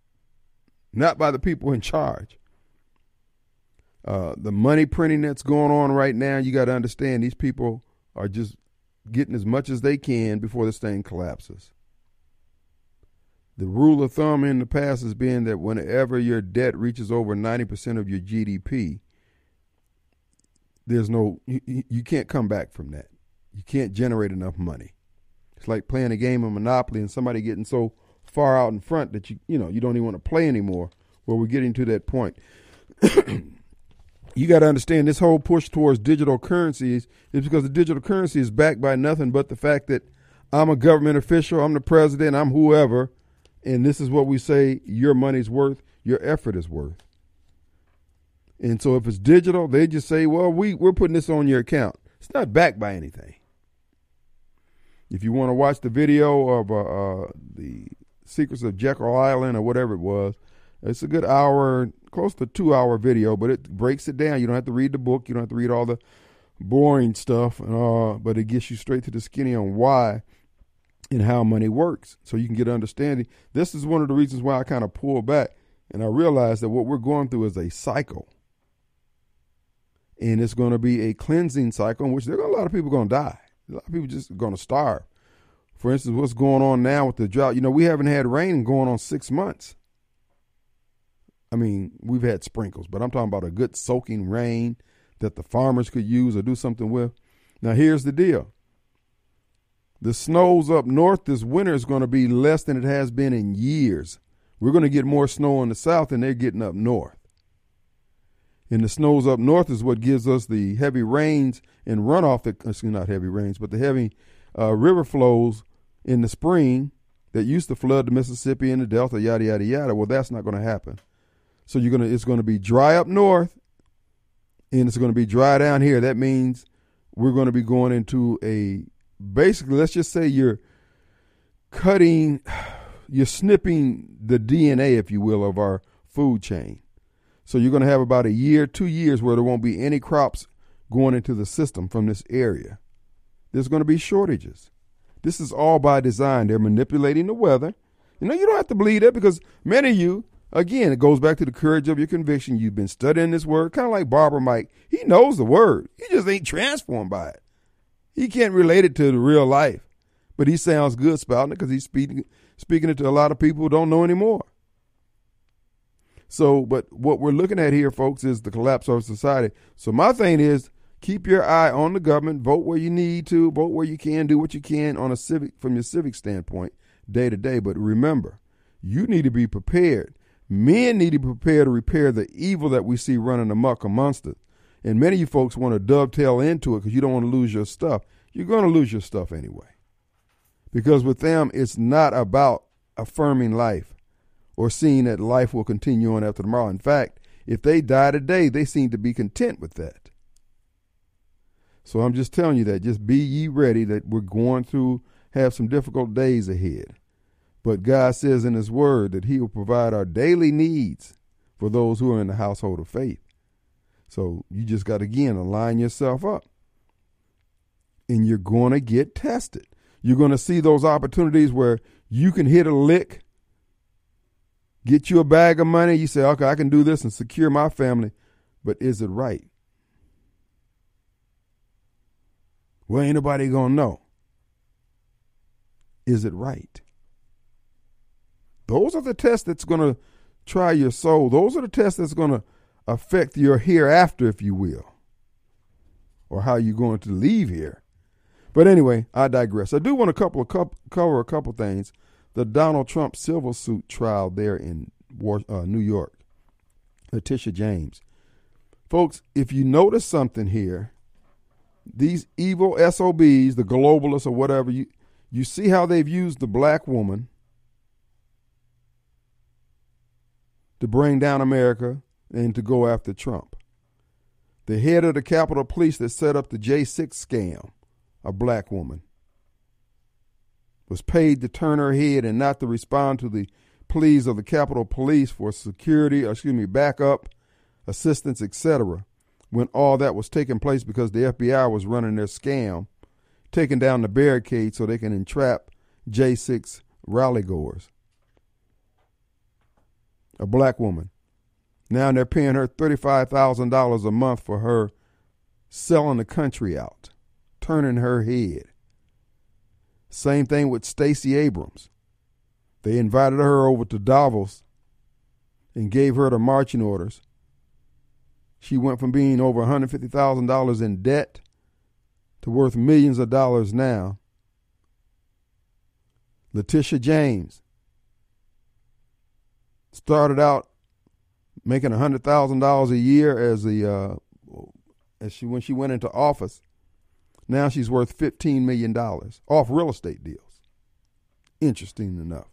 not by the people in charge. Uh, the money printing that's going on right now, you got to understand these people are just getting as much as they can before this thing collapses. The rule of thumb in the past has been that whenever your debt reaches over ninety percent of your G D P, there's no, you, you can't come back from that. You can't generate enough money. It's like playing a game of Monopoly and somebody getting so far out in front that you, you know, you don't even want to play anymore. Well, we're getting to that point. You got to understand this whole push towards digital currencies is because the digital currency is backed by nothing but the fact that I'm a government official, I'm the president, I'm whoever, and this is what we say your money's worth, your effort is worth. And so if it's digital, they just say, well, we, we're putting this on your account. It's not backed by anything. If you want to watch the video of uh, uh, the Secrets of Jekyll Island or whatever it was, it's a good hour, close to two hour video, but it breaks it down. You don't have to read the book. You don't have to read all the boring stuff, uh, but it gets you straight to the skinny on why and how money works, so you can get understanding. This is one of the reasons why I kind of pull back, and I realize that what we're going through is a cycle, and it's going to be a cleansing cycle in which there are a lot of people going to die. A lot of people just going to starve. For instance, what's going on now with the drought? You know, we haven't had rain going on six months. I mean, we've had sprinkles, but I'm talking about a good soaking rain that the farmers could use or do something with. Now, here's the deal. The snows up north this winter is going to be less than it has been in years. We're going to get more snow in the south than they're getting up north. And the snows up north is what gives us the heavy rains and runoff, that, excuse me, not heavy rains, but the heavy uh, river flows in the spring that used to flood the Mississippi and the Delta, yada, yada, yada. Well, that's not going to happen. So you're gonna, it's going to be dry up north, and it's going to be dry down here. That means we're going to be going into a, basically, let's just say you're cutting, you're snipping the D N A, if you will, of our food chain. So you're going to have about a year, two years where there won't be any crops going into the system from this area. There's going to be shortages. This is all by design. They're manipulating the weather. You know, you don't have to believe that, because many of you, again, it goes back to the courage of your conviction. You've been studying this word, kind of like Barbara Mike. He knows the word. He just ain't transformed by it. He can't relate it to the real life, but he sounds good spouting it because he's speaking, speaking it to a lot of people who don't know anymore. So, but what we're looking at here, folks, is the collapse of society. So my thing is, keep your eye on the government, vote where you need to, vote where you can, do what you can on a civic, from your civic standpoint, day to day. But remember, You need to be prepared. Men need to be prepared to repair the evil that we see running amok amongst us. And many of you folks want to dovetail into it because you don't want to lose your stuff. You're going to lose your stuff anyway. Because with them, it's not about affirming life or seeing that life will continue on after tomorrow. In fact, if they die today, they seem to be content with that. So I'm just telling you that. Just be ye ready that we're going to have some difficult days ahead. But God says in his word that he will provide our daily needs for those who are in the household of faith. So you just got to, again, align yourself up. And you're going to get tested. You're going to see those opportunities where you can hit a lick, get you a bag of money. You say, okay, I can do this and secure my family. But is it right? Well, ain't nobody going to know. Is it right? Those are the tests that's going to try your soul. Those are the tests that's going to affect your hereafter, if you will, or how you're going to leave here. But anyway, I digress. I do want to couple of couple, cover a couple things. The Donald Trump civil suit trial there in uh, New York. Letitia James. Folks, if you notice something here, these evil S O Bs, the globalists or whatever, you, you see how they've used the black woman to bring down America and to go after Trump. The head of the Capitol Police that set up the J six scam, a black woman, was paid to turn her head and not to respond to the pleas of the Capitol Police for security, or excuse me, backup, assistance, et cetera, when all that was taking place because the F B I was running their scam, taking down the barricade so they can entrap J six rally goers. A black woman. Now they're paying her thirty-five thousand dollars a month for her selling the country out, turning her head. Same thing with Stacey Abrams. They invited her over to Davos and gave her the marching orders. She went from being over one hundred fifty thousand dollars in debt to worth millions of dollars now. Letitia James started out making one hundred thousand dollars a year as the uh, as she when she went into office. Now she's worth fifteen million dollars off real estate deals. Interesting enough.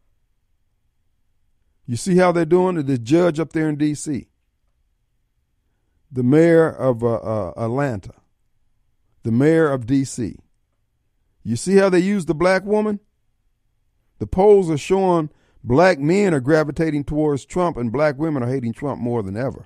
You see how they're doing it? The judge up there in D C, the mayor of uh, uh, Atlanta, the mayor of D C. You see how they use the black woman? The polls are showing black men are gravitating towards Trump and black women are hating Trump more than ever.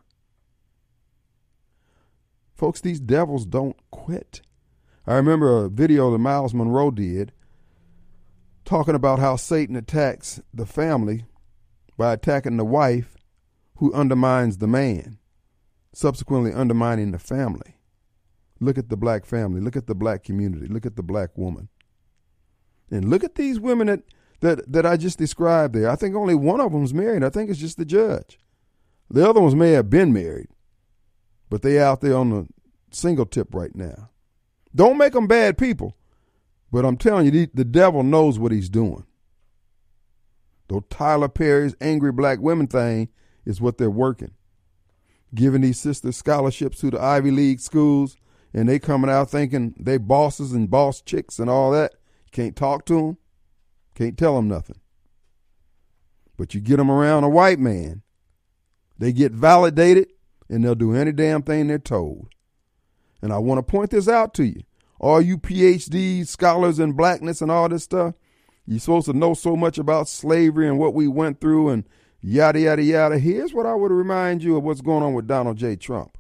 Folks, these devils don't quit. I remember a video that Miles Monroe did talking about how Satan attacks the family by attacking the wife who undermines the man, subsequently undermining the family. Look at the black family. Look at the black community. Look at the black woman. And look at these women that That that I just described there. I think only one of them's married. I think it's just the judge. The other ones may have been married, but they out there on the single tip right now. Don't make them bad people, but I'm telling you, the, the devil knows what he's doing. Though Tyler Perry's angry black women thing is what they're working. Giving these sisters scholarships to the Ivy League schools, and they coming out thinking they bosses and boss chicks and all that. You can't talk to them. Can't tell them nothing. But you get them around a white man, they get validated, and they'll do any damn thing they're told. And I want to point this out to you. All you P H D scholars in blackness and all this stuff, you're supposed to know so much about slavery and what we went through and yada, yada, yada. Here's what I would remind you of what's going on with Donald J. Trump.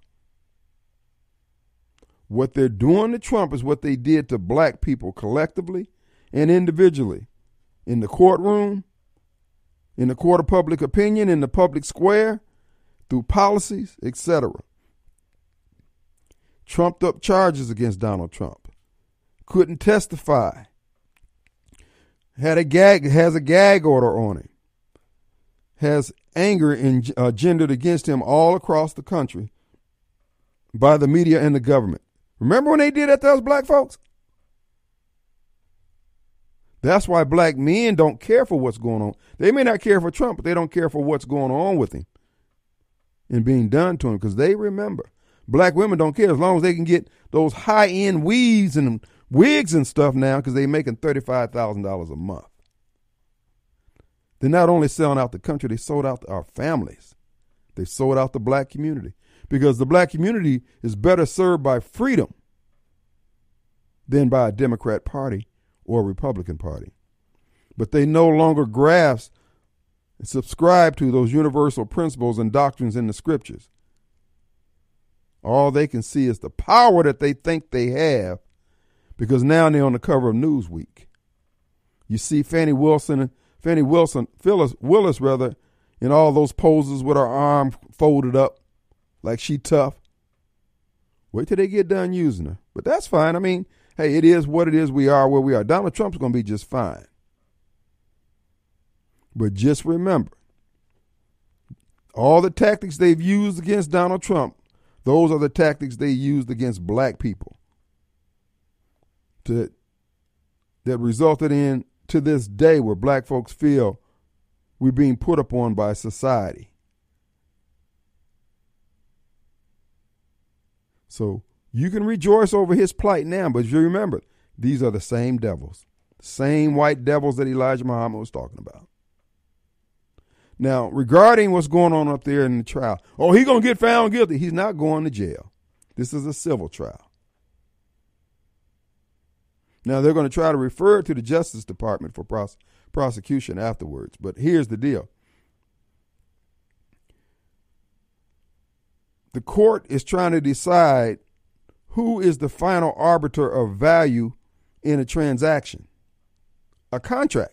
What they're doing to Trump is what they did to black people collectively and individually. In the courtroom, in the court of public opinion, in the public square, through policies, et cetera. Trumped up charges against Donald Trump. Couldn't testify. Had a gag, has a gag order on him. Has anger engendered against him all across the country by the media and the government. Remember when they did that to us black folks? That's why black men don't care for what's going on. They may not care for Trump, but they don't care for what's going on with him and being done to him, because they remember. Black women don't care as long as they can get those high-end weaves and wigs and stuff now, because they're making thirty-five thousand dollars a month. They're not only selling out the country, they sold out our families. They sold out the black community, because the black community is better served by freedom than by a Democrat Party or a Republican Party. But they no longer grasp and subscribe to those universal principles and doctrines in the scriptures. All they can see is the power that they think they have, because now they're on the cover of Newsweek. You see Fannie Wilson, Fannie Wilson, Phyllis Willis rather, in all those poses with her arm folded up like she tough. Wait till they get done using her. But that's fine. I mean, hey, it is what it is. We are where we are. Donald Trump's going to be just fine. But just remember, all the tactics they've used against Donald Trump, those are the tactics they used against black people to, that resulted in, to this day, where black folks feel we're being put upon by society. So you can rejoice over his plight now, but you remember, these are the same devils, same white devils that Elijah Muhammad was talking about. Now, regarding what's going on up there in the trial, oh, he's going to get found guilty. He's not going to jail. This is a civil trial. Now, they're going to try to refer it to the Justice Department for pros- prosecution afterwards. But here's the deal. The court is trying to decide who is the final arbiter of value in a transaction, a contract.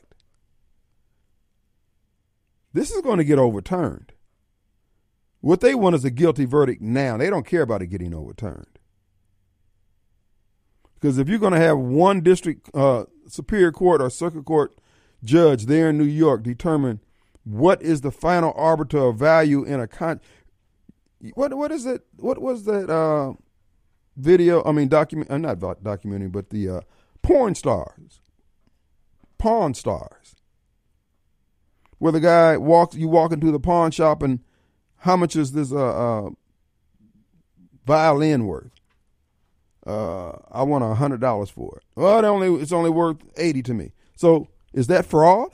This is going to get overturned. What they want is a guilty verdict now. They don't care about it getting overturned. Because if you're going to have one district uh, superior court or circuit court judge there in New York determine what is the final arbiter of value in a con, what what is it? What was that uh, video? I mean, document. Uh, not documentary, but the uh, porn stars, pawn stars, where the guy walks. You walk into the pawn shop, and how much is this uh, uh, violin worth? Uh, I want a hundred dollars for it. Well, it only it's only worth eighty to me. So is that fraud?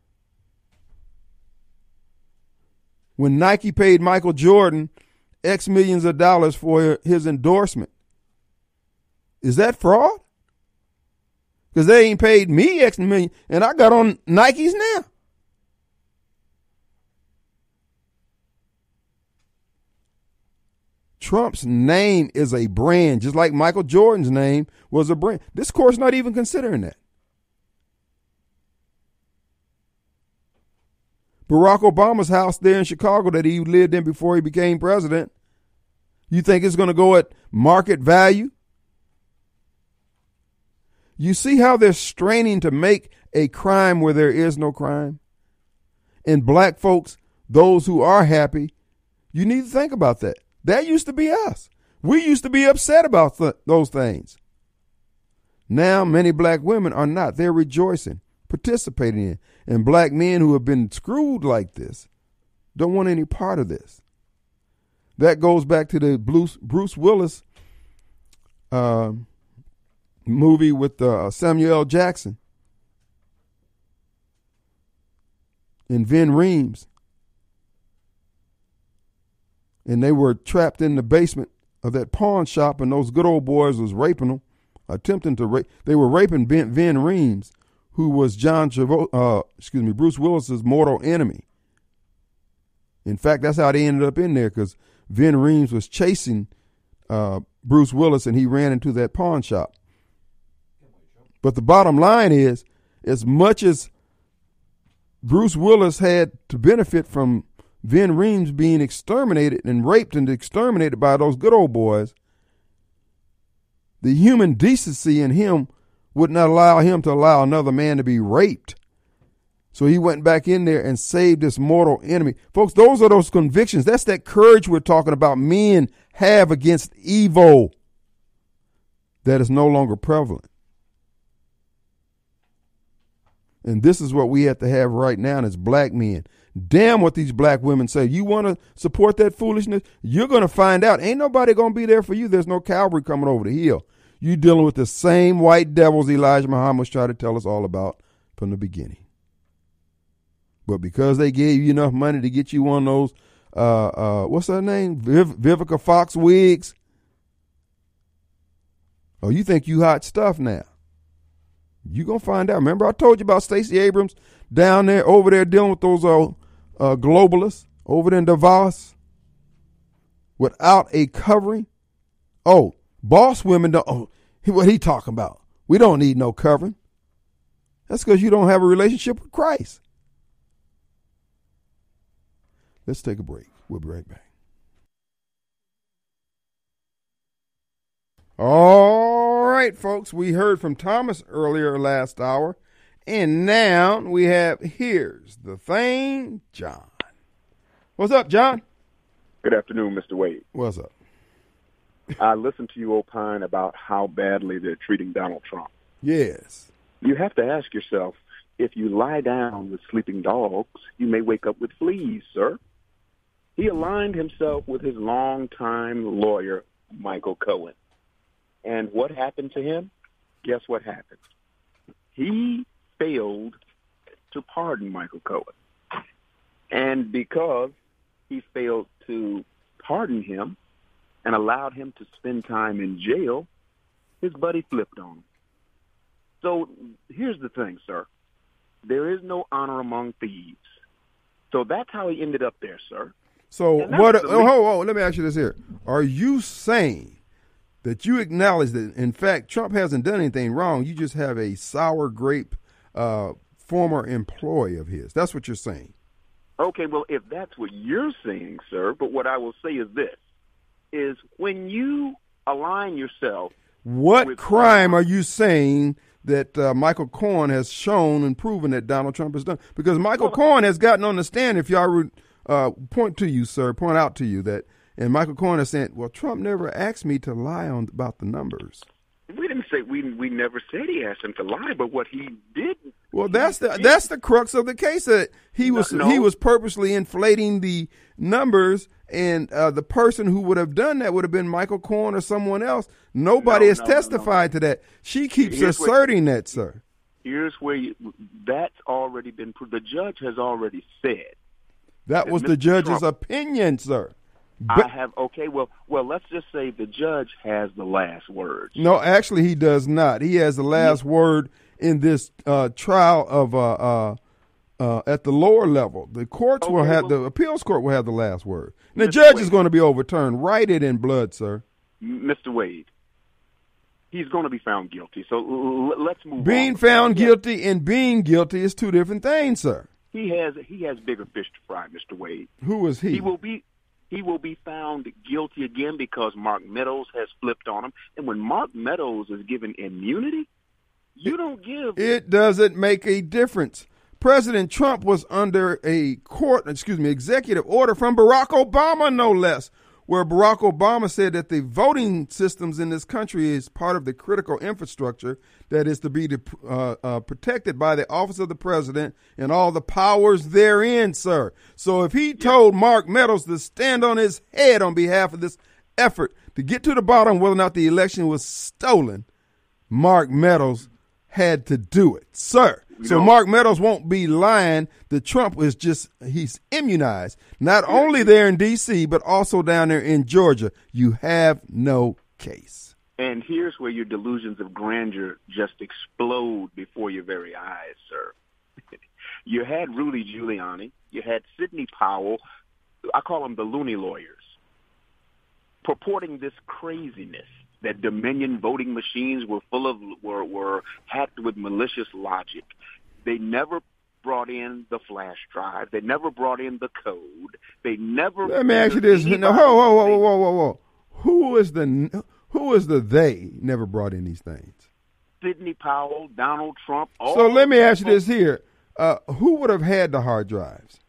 When Nike paid Michael Jordan X millions of dollars for his endorsement, is that fraud? Because they ain't paid me X million, and I got on Nikes now. Trump's name is a brand, just like Michael Jordan's name was a brand. This court's not even considering that. Barack Obama's house there in Chicago that he lived in before he became president, you think it's going to go at market value? You see how they're straining to make a crime where there is no crime? And black folks, those who are happy, you need to think about that. That used to be us. We used to be upset about th- those things. Now many black women are not. They're rejoicing, participating in. And black men who have been screwed like this don't want any part of this. That goes back to the Bruce, Bruce Willis uh, movie with uh, Samuel L. Jackson and Vin Reams. And they were trapped in the basement of that pawn shop, and those good old boys was raping them, attempting to rape. They were raping Ben, Vin Reams, who was John Travo- uh, excuse me, Bruce Willis's mortal enemy. In fact, that's how they ended up in there, because Vin Reams was chasing uh, Bruce Willis, and he ran into that pawn shop. But the bottom line is, as much as Bruce Willis had to benefit from Vin Reams being exterminated and raped and exterminated by those good old boys, the human decency in him would not allow him to allow another man to be raped. So he went back in there and saved this mortal enemy. Folks, those are those convictions. That's that courage we're talking about men have against evil that is no longer prevalent. And this is what we have to have right now as black men. Damn what these black women say. You want to support that foolishness? You're going to find out. Ain't nobody going to be there for you. There's no cavalry coming over the hill. You dealing with the same white devils Elijah Muhammad was trying to tell us all about from the beginning. But because they gave you enough money to get you one of those, uh, uh, what's her name? Viv- Vivica Fox wigs. Oh, you think you hot stuff now. You going to find out. Remember I told you about Stacey Abrams down there, over there dealing with those uh, uh, globalists over there in Davos without a covering? Oh, boss women don't, oh, what he talking about? We don't need no covering. That's because you don't have a relationship with Christ. Let's take a break. We'll be right back. All right, folks, we heard from Thomas earlier last hour, and now we have Here's the Thing, John. What's up, John? Good afternoon, Mister Wade. What's up? I listened to you opine about how badly they're treating Donald Trump. Yes. You have to ask yourself, if you lie down with sleeping dogs, you may wake up with fleas, sir. He aligned himself with his longtime lawyer, Michael Cohen. And what happened to him? Guess what happened? He failed to pardon Michael Cohen. And because he failed to pardon him and allowed him to spend time in jail, his buddy flipped on him. So here's the thing, sir. There is no honor among thieves. So that's how he ended up there, sir. So And what? that's Oh, the hold on, let me ask you this here: are you saying that you acknowledge that, in fact, Trump hasn't done anything wrong? You just have a sour grape uh, former employee of his. That's what you're saying. Okay, well, if that's what you're saying, sir, but what I will say is this, is when you align yourself. What with crime are you saying that uh, Michael Cohen has shown and proven that Donald Trump has done? Because Michael Well, Cohen has gotten on the stand, if y'all would uh, point to you, sir, point out to you that, and Michael Cohen is saying, well, Trump never asked me to lie on about the numbers. We didn't say we we never said he asked him to lie, but what he did. Well, that's the that's the crux of the case. That he was No, no. he was purposely inflating the numbers, and uh, the person who would have done that would have been Michael Cohen or someone else. Nobody No, has no, no, testified to that. She keeps Here's what- asserting that, sir. Here's where you, that's already been proved. The judge has already said. That that was the Mister judge's Trump- opinion, sir. I But, have okay. Well, well, let's just say the judge has the last word. no, actually, he does not. He has the last word in this uh, trial of uh, uh, uh, at the lower level. The courts will Okay, have well- the appeals court will have the last word. And the Mister judge Wade. is going to be overturned. Write it in blood, sir. Mister Wade, he's going to be found guilty. So l- l- let's move on. Being found He has- guilty and being guilty is two different things, sir. He has he has bigger fish to fry, Mister Wade. Who is he? He will be he will be found guilty again because Mark Meadows has flipped on him. And when Mark Meadows is given immunity, you don't give. It doesn't make a difference. President Trump was under a court, excuse me, executive order from Barack Obama, no less, where Barack Obama said that the voting systems in this country is part of the critical infrastructure that is to be uh, uh, protected by the office of the president and all the powers therein, sir. So if he told Mark Meadows to stand on his head on behalf of this effort to get to the bottom of whether or not the election was stolen, Mark Meadows had to do it, sir. So Mark Meadows won't be lying that Trump is just, he's immunized, not only there in D C, but also down there in Georgia. You have no case. And here's where your delusions of grandeur just explode before your very eyes, sir. You had Rudy Giuliani. You had Sidney Powell. I call them the loony lawyers, purporting this craziness that Dominion voting machines were full of, were, were hacked with malicious logic. They never brought in the flash drive. They never brought in the code. They never. Let me ask you this. No, whoa, whoa, whoa, whoa, whoa, whoa. Who is the, who is the they never brought in these things? Sidney Powell, Donald Trump. All So let me ask you this here. Uh, who would have had the hard drives?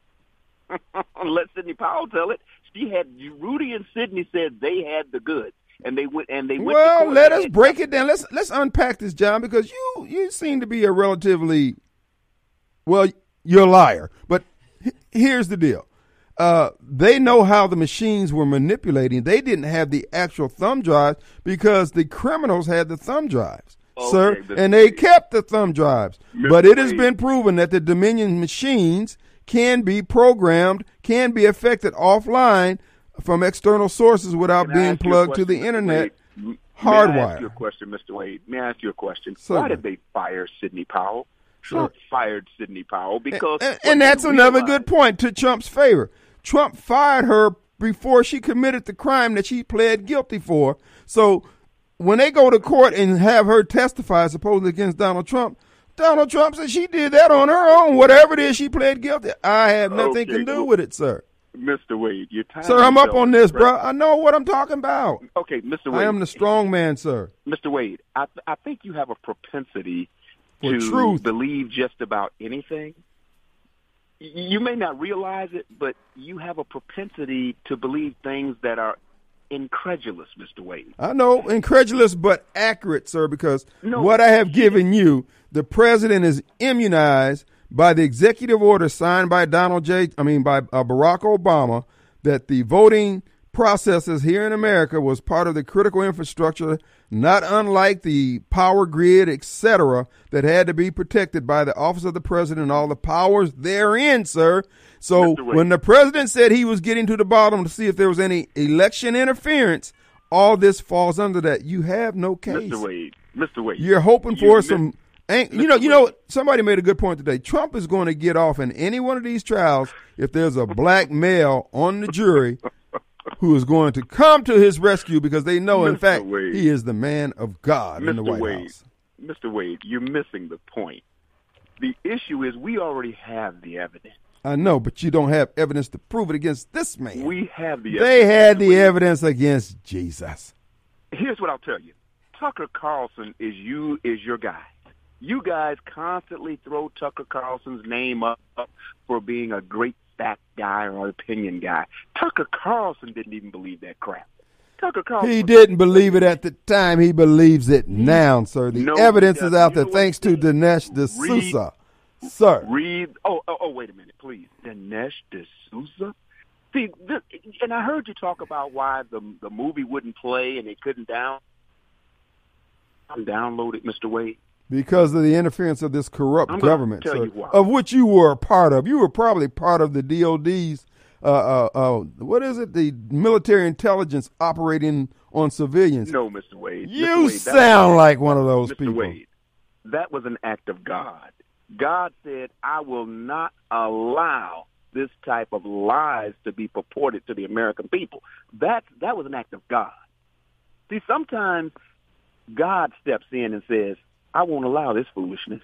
Let Sidney Powell tell it. She had Rudy and Sidney said they had the goods, and they went and they went. Well, to court let and us they- break it down. Let's let's unpack this, John, because you you seem to be a relatively Well, you're a liar. But h- here's the deal. Uh, they know how the machines were manipulating. They didn't have the actual thumb drives because the criminals had the thumb drives, Okay, sir, Mister and they Wade. kept the thumb drives. Mister But it has Wade. been proven that the Dominion machines can be programmed, can be affected offline from external sources without Can I being ask you a plugged to the question, Mister internet, Wade? M- May I ask hardwired. you a question, Mister Wade? May I ask you a question? Certainly. Why did they fire Sidney Powell? Sure. Trump fired Sidney Powell because And, what and that's they another realized- good point to Trump's favor. Trump fired her before she committed the crime that she pled guilty for. So when they go to court and have her testify supposedly against Donald Trump, Donald Trump said she did that on her own. Whatever it is she pled guilty, I have nothing Okay, to do well, with it, sir. Mister Wade, you're tying Sir, I'm up yourself on to this, the bro. I know what I'm talking about. Okay, Mister Wade. I am the strong man, sir. Mister Wade, I, th- I think you have a propensity For to truth. believe just about anything. Y- You may not realize it, but you have a propensity to believe things that are incredulous, Mister Wade. I know, incredulous but accurate, sir, because No. what I have given you, the president is immunized by the executive order signed by Donald J. I mean, by uh, Barack Obama, that the voting processes here in America was part of the critical infrastructure, not unlike the power grid, et cetera, that had to be protected by the office of the president and all the powers therein, sir. So Mister Wade. when the president said he was getting to the bottom to see if there was any election interference, all this falls under that. You have no case. Mister Wade, Mister Wade. You're hoping you for miss- some. Ain't, you know, you know. Somebody made a good point today. Trump is going to get off in any one of these trials if there's a black male on the jury who is going to come to his rescue because they know, in Mister fact, Wade. he is the man of God in the Mister White Wade, House. Mister Wade, you're missing the point. The issue is we already have the evidence. I know, but you don't have evidence to prove it against this man. We have the They evidence. had the Mister Wade. evidence against Jesus. Here's what I'll tell you. Tucker Carlson is you is your guy. You guys constantly throw Tucker Carlson's name up for being a great fact guy or an opinion guy. Tucker Carlson didn't even believe that crap. Tucker Carlson. He didn't believe it at the time. He believes it now, sir. The No, evidence he is out doesn't. there You know what thanks to he Dinesh Read- D'Souza. Sir. Read. Oh, oh, oh, wait a minute, please. Dinesh D'Souza. See, this, and I heard you talk about why the the movie wouldn't play and it couldn't down. Download it, Mister Wade. Because of the interference of this corrupt I'm gonna government, tell sir, you why. of which you were a part of. You were probably part of the D O D's, uh, uh, uh, what is it, the military intelligence operating on civilians. No, Mister Wade. Mister You Wade, that- sound like one of those Mister people. Wade, that was an act of God. God said, I will not allow this type of lies to be purported to the American people. That, that was an act of God. See, sometimes God steps in and says, I won't allow this foolishness.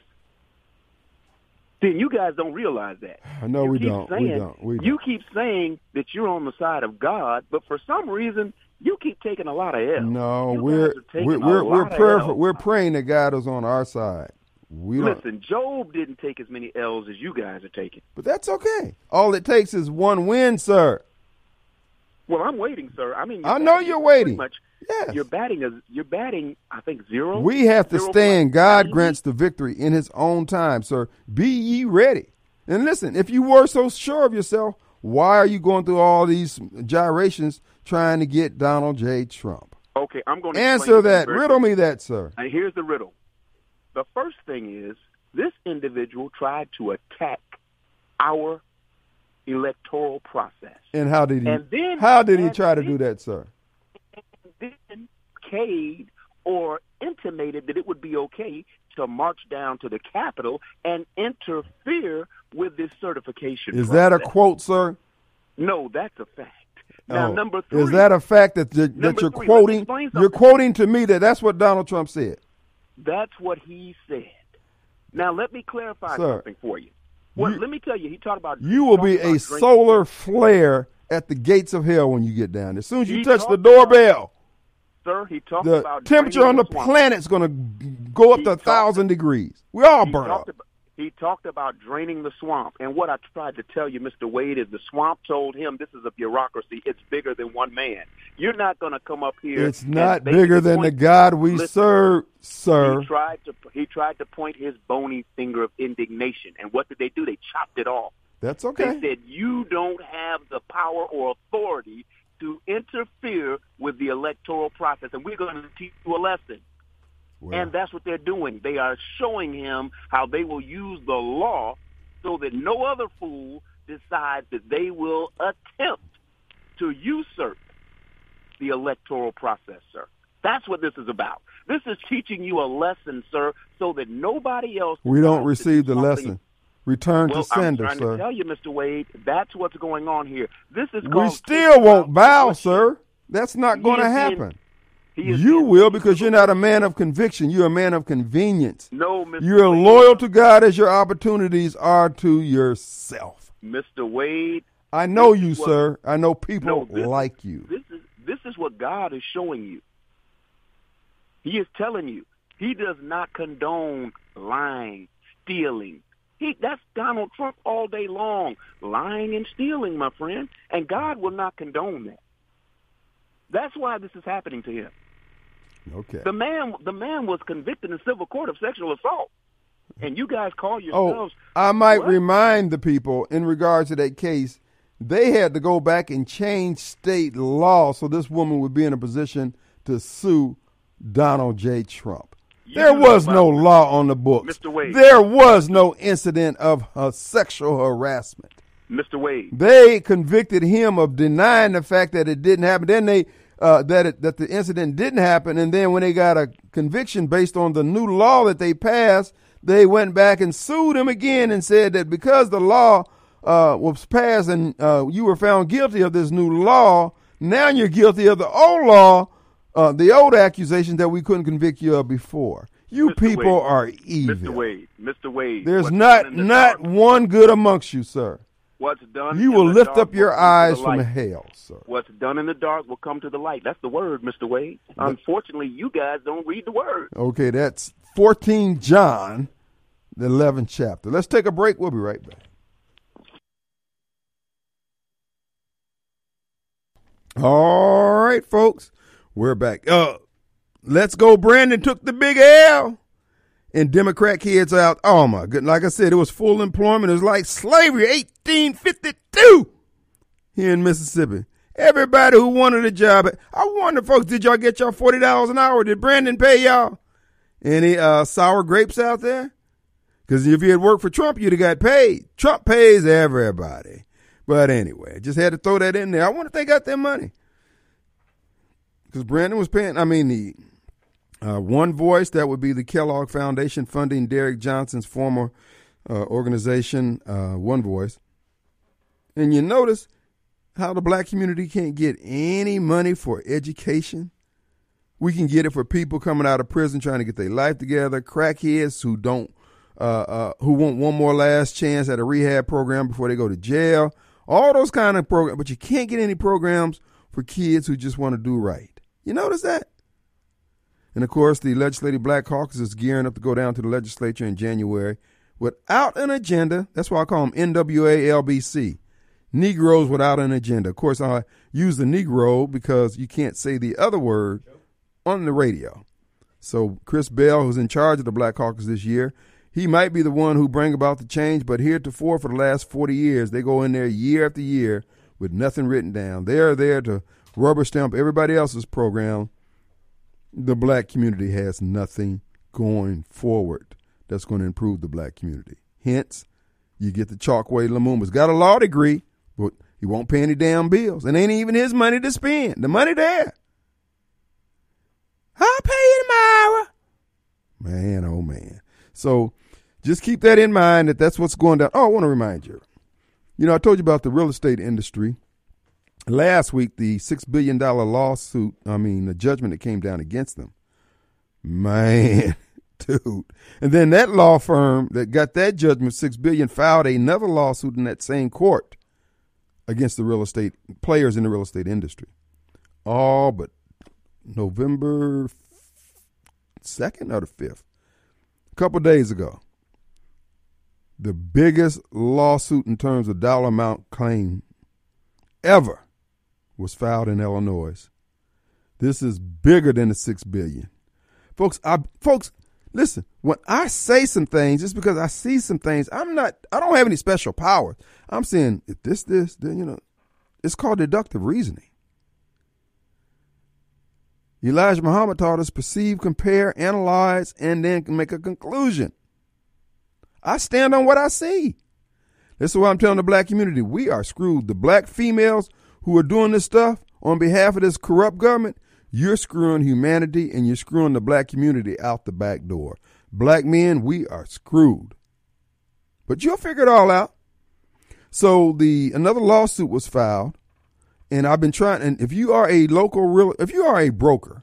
See, you guys don't realize that. I know You we keep don't. We saying- don't. We don't. You keep saying that you're on the side of God, but for some reason, you keep taking a lot of L's. No, You we're guys are taking we're a we're we're, lot of prayerful, L's. we're praying that God is on our side. We don't, Listen, Job didn't take as many L's as you guys are taking. but that's okay. All it takes is one win, sir. Well, I'm waiting, sir. I mean, I know you're waiting. Pretty much, Yes. you're batting. A, you're batting. I think zero. We have to Zero stand. point God ninety. grants the victory in his own time, sir. Be ye ready. And listen, if you were so sure of yourself, why are you going through all these gyrations trying to get Donald J. Trump? Okay, I'm going to Answer that. Riddle me that, sir. And here's the riddle. The first thing is this individual tried to attack our electoral process. And how did he? And then- how did he and try to then- do that, sir? Then Cade or intimated that it would be okay to march down to the Capitol and interfere with this certification Is that a process. quote, sir? No, that's a fact. Now, Oh. number three. Is that a fact that you're, that Number you're three, let me quoting? explain You're something. quoting to me that that's what Donald Trump said. That's what he said. Now, let me clarify Sir, something for you. Well, you- let me tell you, he talked about... You will be talked a about drinking- solar flare at the gates of hell when you get down. As soon as you He touch the talked doorbell, Sir, he talked the about... temperature draining on the swamp. planet's going to go up He to a talked- thousand degrees. We all He burn talked up. about, He talked about draining the swamp. And what I tried to tell you, Mister Wade, is the swamp told him this is a bureaucracy. It's bigger than one man. You're not going to come up here. It's not and bigger than the point, God we listen, serve, sir. He tried to he tried to point his bony finger of indignation. And what did they do? They chopped it off. That's okay. They said, you don't have the power or authority to interfere with the electoral process, and we're going to teach you a lesson. Well, and that's what they're doing. They are showing him how they will use the law so that no other fool decides that they will attempt to usurp the electoral process, sir. That's what this is about. This is teaching you a lesson, sir, so that nobody else... We don't receive the lesson. Return well, to sender, I'm trying sir. to tell you, Mister Wade, that's what's going on here. This is called... We still won't bow, sir. That's not going to happen. You will, because you're not a man of conviction. You're a man of convenience. No, Mister You're Wade. loyal to God as your opportunities are to yourself. Mister Wade. I know you, what, sir. I know people no, this, like you. This is this is what God is showing you. He is telling you. He does not condone lying, stealing. He, that's Donald Trump all day long, lying and stealing, my friend. And God will not condone that. That's why this is happening to him. Okay. The man, the man was convicted in civil court of sexual assault, and you guys call yourselves. Oh, I might what? remind the people in regards to that case, they had to go back and change state law so this woman would be in a position to sue Donald J. Trump. You there was no Mister law on the books. Mister Wade. There was no incident of uh, sexual harassment. Mister Wade. They convicted him of denying the fact that it didn't happen. Then they uh, that it, that the incident didn't happen, and then when they got a conviction based on the new law that they passed, they went back and sued him again and said that because the law uh, was passed and uh, you were found guilty of this new law, now you're guilty of the old law, uh, the old accusation that we couldn't convict you of before. You Mister people Wade. are evil. Mister Wade. Mister Wade. There's what's not done in the not dark, one good amongst you, sir. What's done You in will the lift dark up your will come to eyes the from light. hell, sir. What's done in the dark will come to the light. That's the word, Mister Wade. Unfortunately, you guys don't read the word. Okay, that's fourteen John, the eleventh chapter. Let's take a break. We'll be right back. All right, folks, we're back. Uh, let's go. Brandon took the big L. And Democrat kids out. Oh, my goodness. Like I said, it was full employment. It was like slavery, eighteen fifty-two here in Mississippi. Everybody who wanted a job. I wonder, folks, did y'all get y'all forty dollars an hour? Did Brandon pay y'all? Any uh, sour grapes out there? Because if you had worked for Trump, you'd have got paid. Trump pays everybody. But anyway, just had to throw that in there. I wonder if they got their money. Because Brandon was paying, I mean, the... Uh, One Voice, that would be the Kellogg Foundation funding Derek Johnson's former uh, organization, uh, One Voice. And you notice how the black community can't get any money for education. We can get it for people coming out of prison trying to get their life together, crackheads who don't, uh, uh, who want one more last chance at a rehab program before they go to jail. All those kind of programs, but you can't get any programs for kids who just want to do right. You notice that? And, of course, the Legislative Black Caucus is gearing up to go down to the legislature in January without an agenda. That's why I call them N W A L B C, Negroes without an agenda. Of course, I use the Negro because you can't say the other word on the radio. So Chris Bell, who's in charge of the Black Caucus this year, he might be the one who bring about the change, but heretofore for the last forty years, they go in there year after year with nothing written down. They are there to rubber stamp everybody else's program. The black community has nothing going forward that's going to improve the black community. Hence, you get the Chokwe Lumumba's got a law degree, but he won't pay any damn bills. And ain't even his money to spend. The money there. I'll pay you tomorrow. Man, oh, man. So just keep that in mind that that's what's going down. Oh, I want to remind you. You know, I told you about the real estate industry. Last week, the six billion dollars lawsuit, I mean, the judgment that came down against them. Man, dude. And then that law firm that got that judgment, six billion dollars, filed another lawsuit in that same court against the real estate players in the real estate industry. All but November second or the fifth, a couple days ago. The biggest lawsuit in terms of dollar amount claim ever was filed in Illinois. This is bigger than the six billion dollars. Folks, I, folks, listen, when I say some things, it's because I see some things. I'm not, I don't have any special powers. I'm saying, if this, this, then, you know, it's called deductive reasoning. Elijah Muhammad taught us perceive, compare, analyze, and then make a conclusion. I stand on what I see. This is what I'm telling the black community. We are screwed. The black females who are doing this stuff on behalf of this corrupt government, you're screwing humanity and you're screwing the black community out the back door. Black men, we are screwed. But you'll figure it all out. So the another lawsuit was filed, and I've been trying, and if you are a local real, if you are a broker,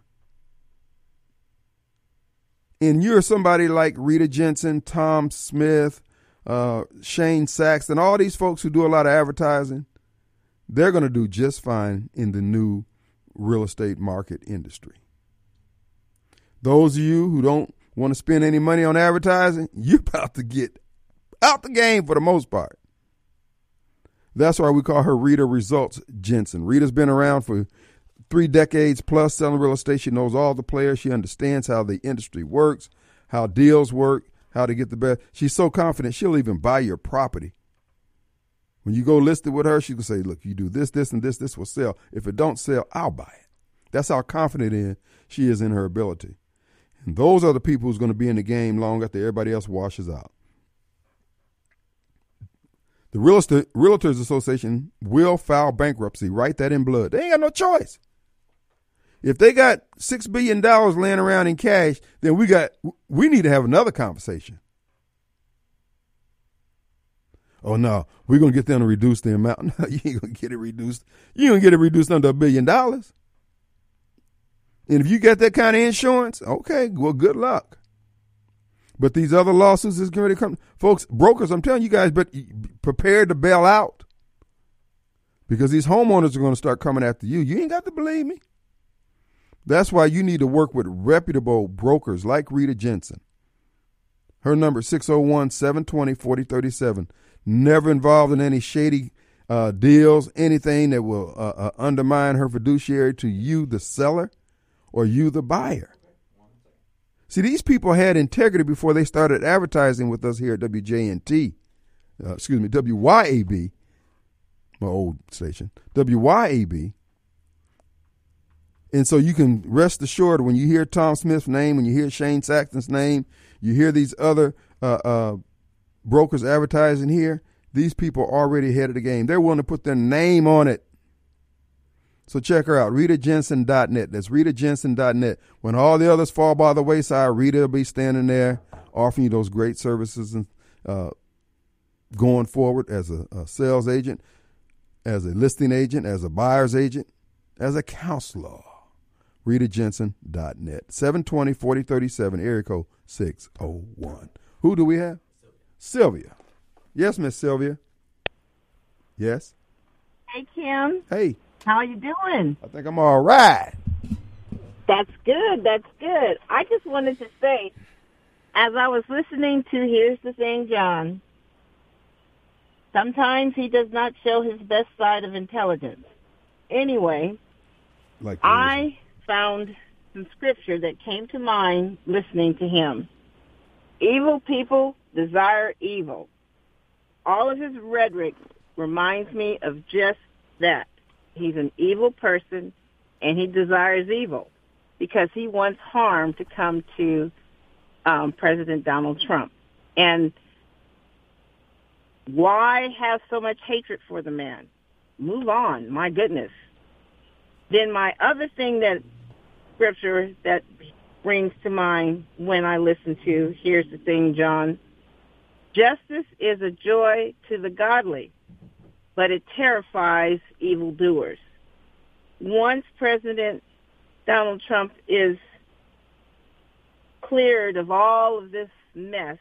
and you're somebody like Rita Jensen, Tom Smith, uh, Shane Saxton, all these folks who do a lot of advertising, they're going to do just fine in the new real estate market industry. Those of you who don't want to spend any money on advertising, you're about to get out the game for the most part. That's why we call her Rita Results Jensen. Rita's been around for three decades plus selling real estate. She knows all the players. She understands how the industry works, how deals work, how to get the best. She's so confident she'll even buy your property. When you go list it with her, she can say, look, you do this, this, and this, this will sell. If it don't sell, I'll buy it. That's how confident in she is in her ability. And those are the people who's going to be in the game long after everybody else washes out. The Real Estate Realtors Association will file bankruptcy. Write that in blood. They ain't got no choice. If they got six billion dollars laying around in cash, then we got we need to have another conversation. Oh, no, we're going to get them to reduce the amount. No, you ain't going to get it reduced. You ain't going to get it reduced under a billion dollars. And if you got that kind of insurance, okay, well, good luck. But these other lawsuits is going to come. Folks, brokers, I'm telling you guys, but prepare to bail out. Because these homeowners are going to start coming after you. You ain't got to believe me. That's why you need to work with reputable brokers like Rita Jensen. Her number is six oh one, seven two zero, four oh three seven. Never involved in any shady uh, deals, anything that will uh, uh, undermine her fiduciary to you, the seller, or you, the buyer. See, these people had integrity before they started advertising with us here at W J N T. Uh, excuse me, W Y A B, my old station, W Y A B. And so you can rest assured when you hear Tom Smith's name, when you hear Shane Saxton's name, you hear these other uh, uh, brokers advertising here, these people are already ahead of the game. They're willing to put their name on it. So check her out, Rita Jensen dot net. That's Rita Jensen dot net. When all the others fall by the wayside, Rita will be standing there offering you those great services and uh, going forward as a, a sales agent, as a listing agent, as a buyer's agent, as a counselor. Rita Jensen dot net. seven two zero, four oh three seven, area code six oh one. Who do we have? Sylvia. Sylvia. Yes, Miss Sylvia. Yes. Hey, Kim. Hey. How you doing? I think I'm all right. That's good. That's good. I just wanted to say, as I was listening to Here's the Thing, John, sometimes he does not show his best side of intelligence. Anyway, like I found some scripture that came to mind listening to him. Evil people desire evil. All of his rhetoric reminds me of just that. He's an evil person, and he desires evil because he wants harm to come to um, President Donald Trump. And why have so much hatred for the man? Move on, my goodness. Then my other thing that scripture that brings to mind when I listen to Here's the Thing, John, justice is a joy to the godly, but it terrifies evildoers. Once President Donald Trump is cleared of all of this mess,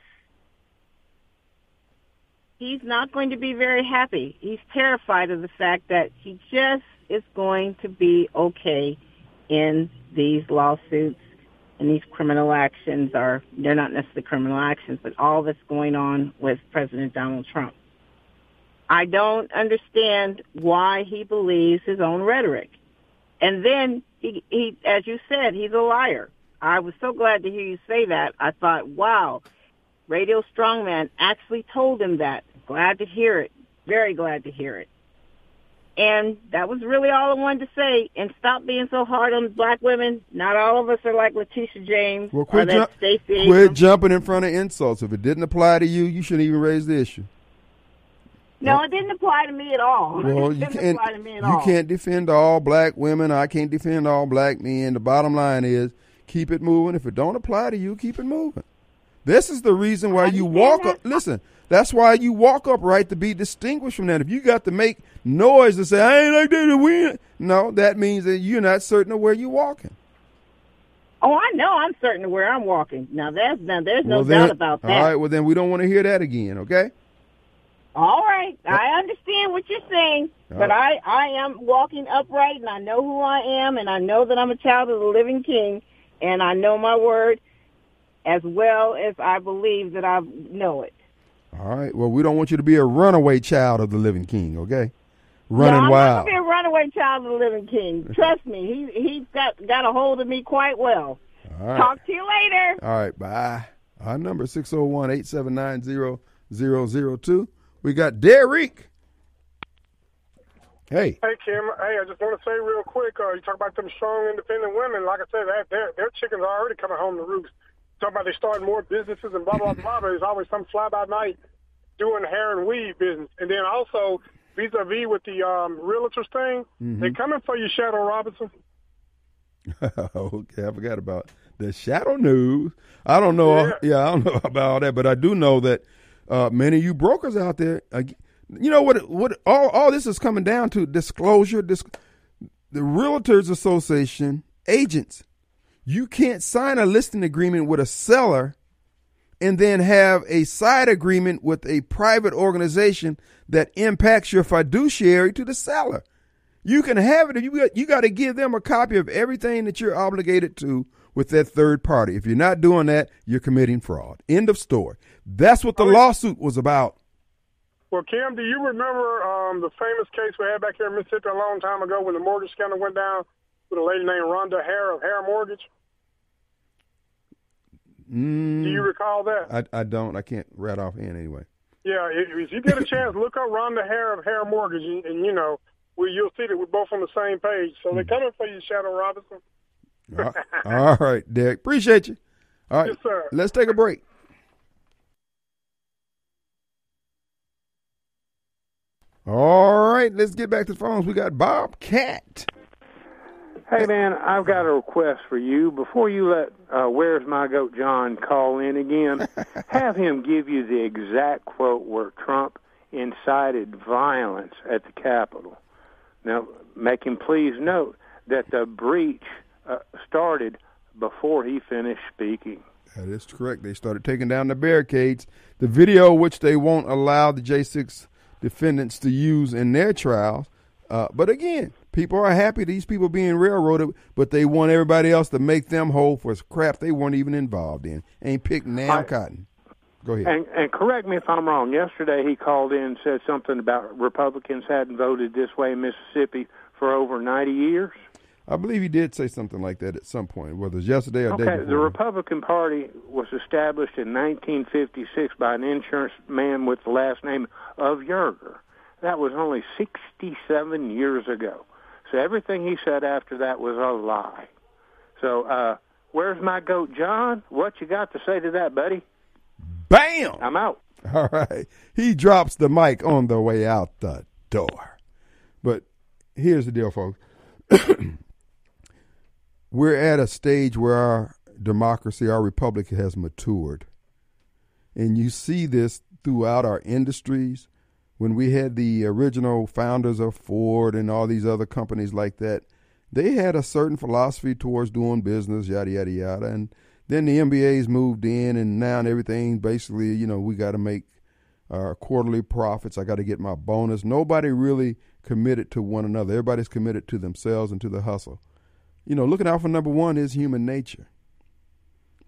he's not going to be very happy. He's terrified of the fact that he just is going to be okay in these lawsuits and these criminal actions are, they're not necessarily criminal actions, but all that's going on with President Donald Trump. I don't understand why he believes his own rhetoric. And then, he, he, as you said, he's a liar. I was so glad to hear you say that. I thought, wow, Radio Strongman actually told him that. Glad to hear it. Very glad to hear it. And that was really all I wanted to say. And stop being so hard on black women. Not all of us are like Letitia James Well, or quit, that jump, Stacey quit Abrams. jumping in front of insults. If it didn't apply to you, you shouldn't even raise the issue. No, it didn't apply to me at all. Well, it you didn't can't. apply to me at You all. can't defend all black women. I can't defend all black men. The bottom line is keep it moving. If it don't apply to you, keep it moving. This is the reason why you walk up. Listen, that's why you walk upright, to be distinguished from that. If you got to make noise to say I ain't like that to win, no, that means that you're not certain of where you're walking. Oh, I know. I'm certain of where I'm walking. Now, there's now, there's no Well, then- doubt about that. All right. Well, then we don't want to hear that again. Okay. All right. I understand what you're saying, All but right. I, I am walking upright, and I know who I am, and I know that I'm a child of the living King, and I know my word as well as I believe that I know it. All right. Well, we don't want you to be a runaway child of the living King. Okay. Running no, I'm wild. not going to be a runaway child of the living King. Trust me, he he's got got a hold of me quite well. All right. Talk to you later. All right, bye. Our number is six oh one, eight seven nine, zero zero zero two. We got Derek. Hey. Hey, Kim. Hey, I just want to say real quick, uh, you talk about them strong, independent women. Like I said, that, their, their chickens are already coming home to roost. Talk about they starting more businesses and blah, blah, blah. But there's always some fly-by-night doing hair and weave business. And then also, vis-a-vis with the um, realtors thing, Mhm. they coming for you, Shadow Robinson. Okay, I forgot about the shadow news. I don't know. Yeah, yeah I don't know about all that, but I do know that uh, many of you brokers out there, uh, you know what? What all all this is coming down to: disclosure. Dis- the Realtors Association agents. You can't sign a listing agreement with a seller and then have a side agreement with a private organization that impacts your fiduciary to the seller. You can have it. You got, you got to give them a copy of everything that you're obligated to with that third party. If you're not doing that, you're committing fraud. End of story. That's what the lawsuit was about. Well, Kim, do you remember um, the famous case we had back here in Mississippi a long time ago when the mortgage scandal went down with a lady named Rhonda Hare of Hare Mortgage? Mm, Do you recall that? I, I don't. I can't rat off hand anyway. Yeah, if, if you get a chance, look up Rhonda Hare of Hare Mortgage, and, and you know, we, you'll see that we're both on the same page. So they're coming for you, Shadow Robinson. All right, all right, Derek. Appreciate you. All right, Yes, sir. Let's take a break. All right, let's get back to the phones. We got Bob Cat. Hey, man, I've got a request for you. Before you let uh, Where's My Goat John call in again, have him give you the exact quote where Trump incited violence at the Capitol. Now, make him please note that the breach uh, started before he finished speaking. That is correct. They started taking down the barricades. The video, which they won't allow the J six defendants to use in their trials. Uh, but again, people are happy these people being railroaded, but they want everybody else to make them whole for crap they weren't even involved in. Ain't picking damn I- cotton. Go ahead. And, and correct me if I'm wrong. Yesterday he called in and said something about Republicans hadn't voted this way in Mississippi for over ninety years. I believe he did say something like that at some point, whether it's yesterday or Okay, day the before. Republican Party was established in nineteen fifty-six by an insurance man with the last name of Yerger. That was only sixty-seven years ago. So everything he said after that was a lie. So uh, where's my goat, John? What you got to say to that, buddy? Bam! I'm out. All right. He drops the mic on the way out the door. But here's the deal, folks. We're at a stage where our democracy, our republic has matured. And you see this throughout our industries. When we had the original founders of Ford and all these other companies like that, they had a certain philosophy towards doing business, yada, yada, yada. And then the M B As moved in, and now everything basically, you know, we got to make our quarterly profits. I got to get my bonus. Nobody really committed to one another. Everybody's committed to themselves and to the hustle. You know, looking out for number one is human nature.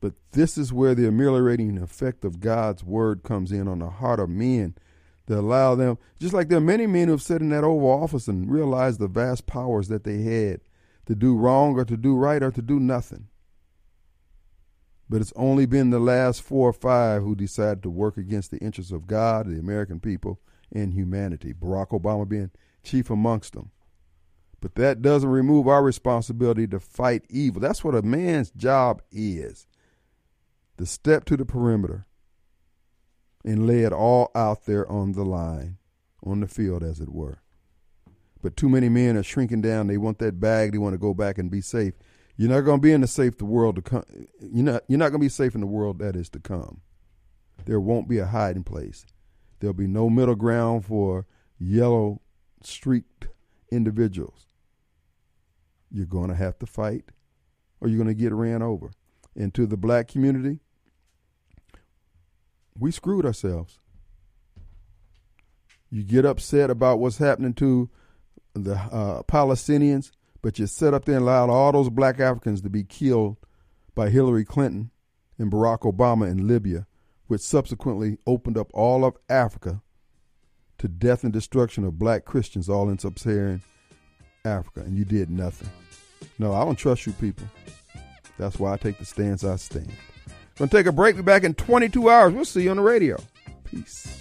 But this is where the ameliorating effect of God's word comes in on the heart of men to allow them, just like there are many men who have sat in that Oval Office and realized the vast powers that they had to do wrong or to do right or to do nothing. But it's only been the last four or five who decided to work against the interests of God, the American people, and humanity, Barack Obama being chief amongst them. But that doesn't remove our responsibility to fight evil. That's what a man's job is, to step to the perimeter and lay it all out there on the line, on the field, as it were. But too many men are shrinking down. They want that bag. They want to go back and be safe. You're not going to be in the safe the world to come. You're not. You're not going to be safe in the world that is to come. There won't be a hiding place. There'll be no middle ground for yellow streaked individuals. You're going to have to fight, or you're going to get ran over. And to the black community, we screwed ourselves. You get upset about what's happening to the uh, Palestinians, but you sit up there and allow all those black Africans to be killed by Hillary Clinton and Barack Obama in Libya, which subsequently opened up all of Africa to death and destruction of black Christians all in sub-Saharan Africa, and you did nothing. No, I don't trust you people. That's why I take the stance I stand. Gonna take a break. Be back in twenty-two hours. We'll see you on the radio. Peace.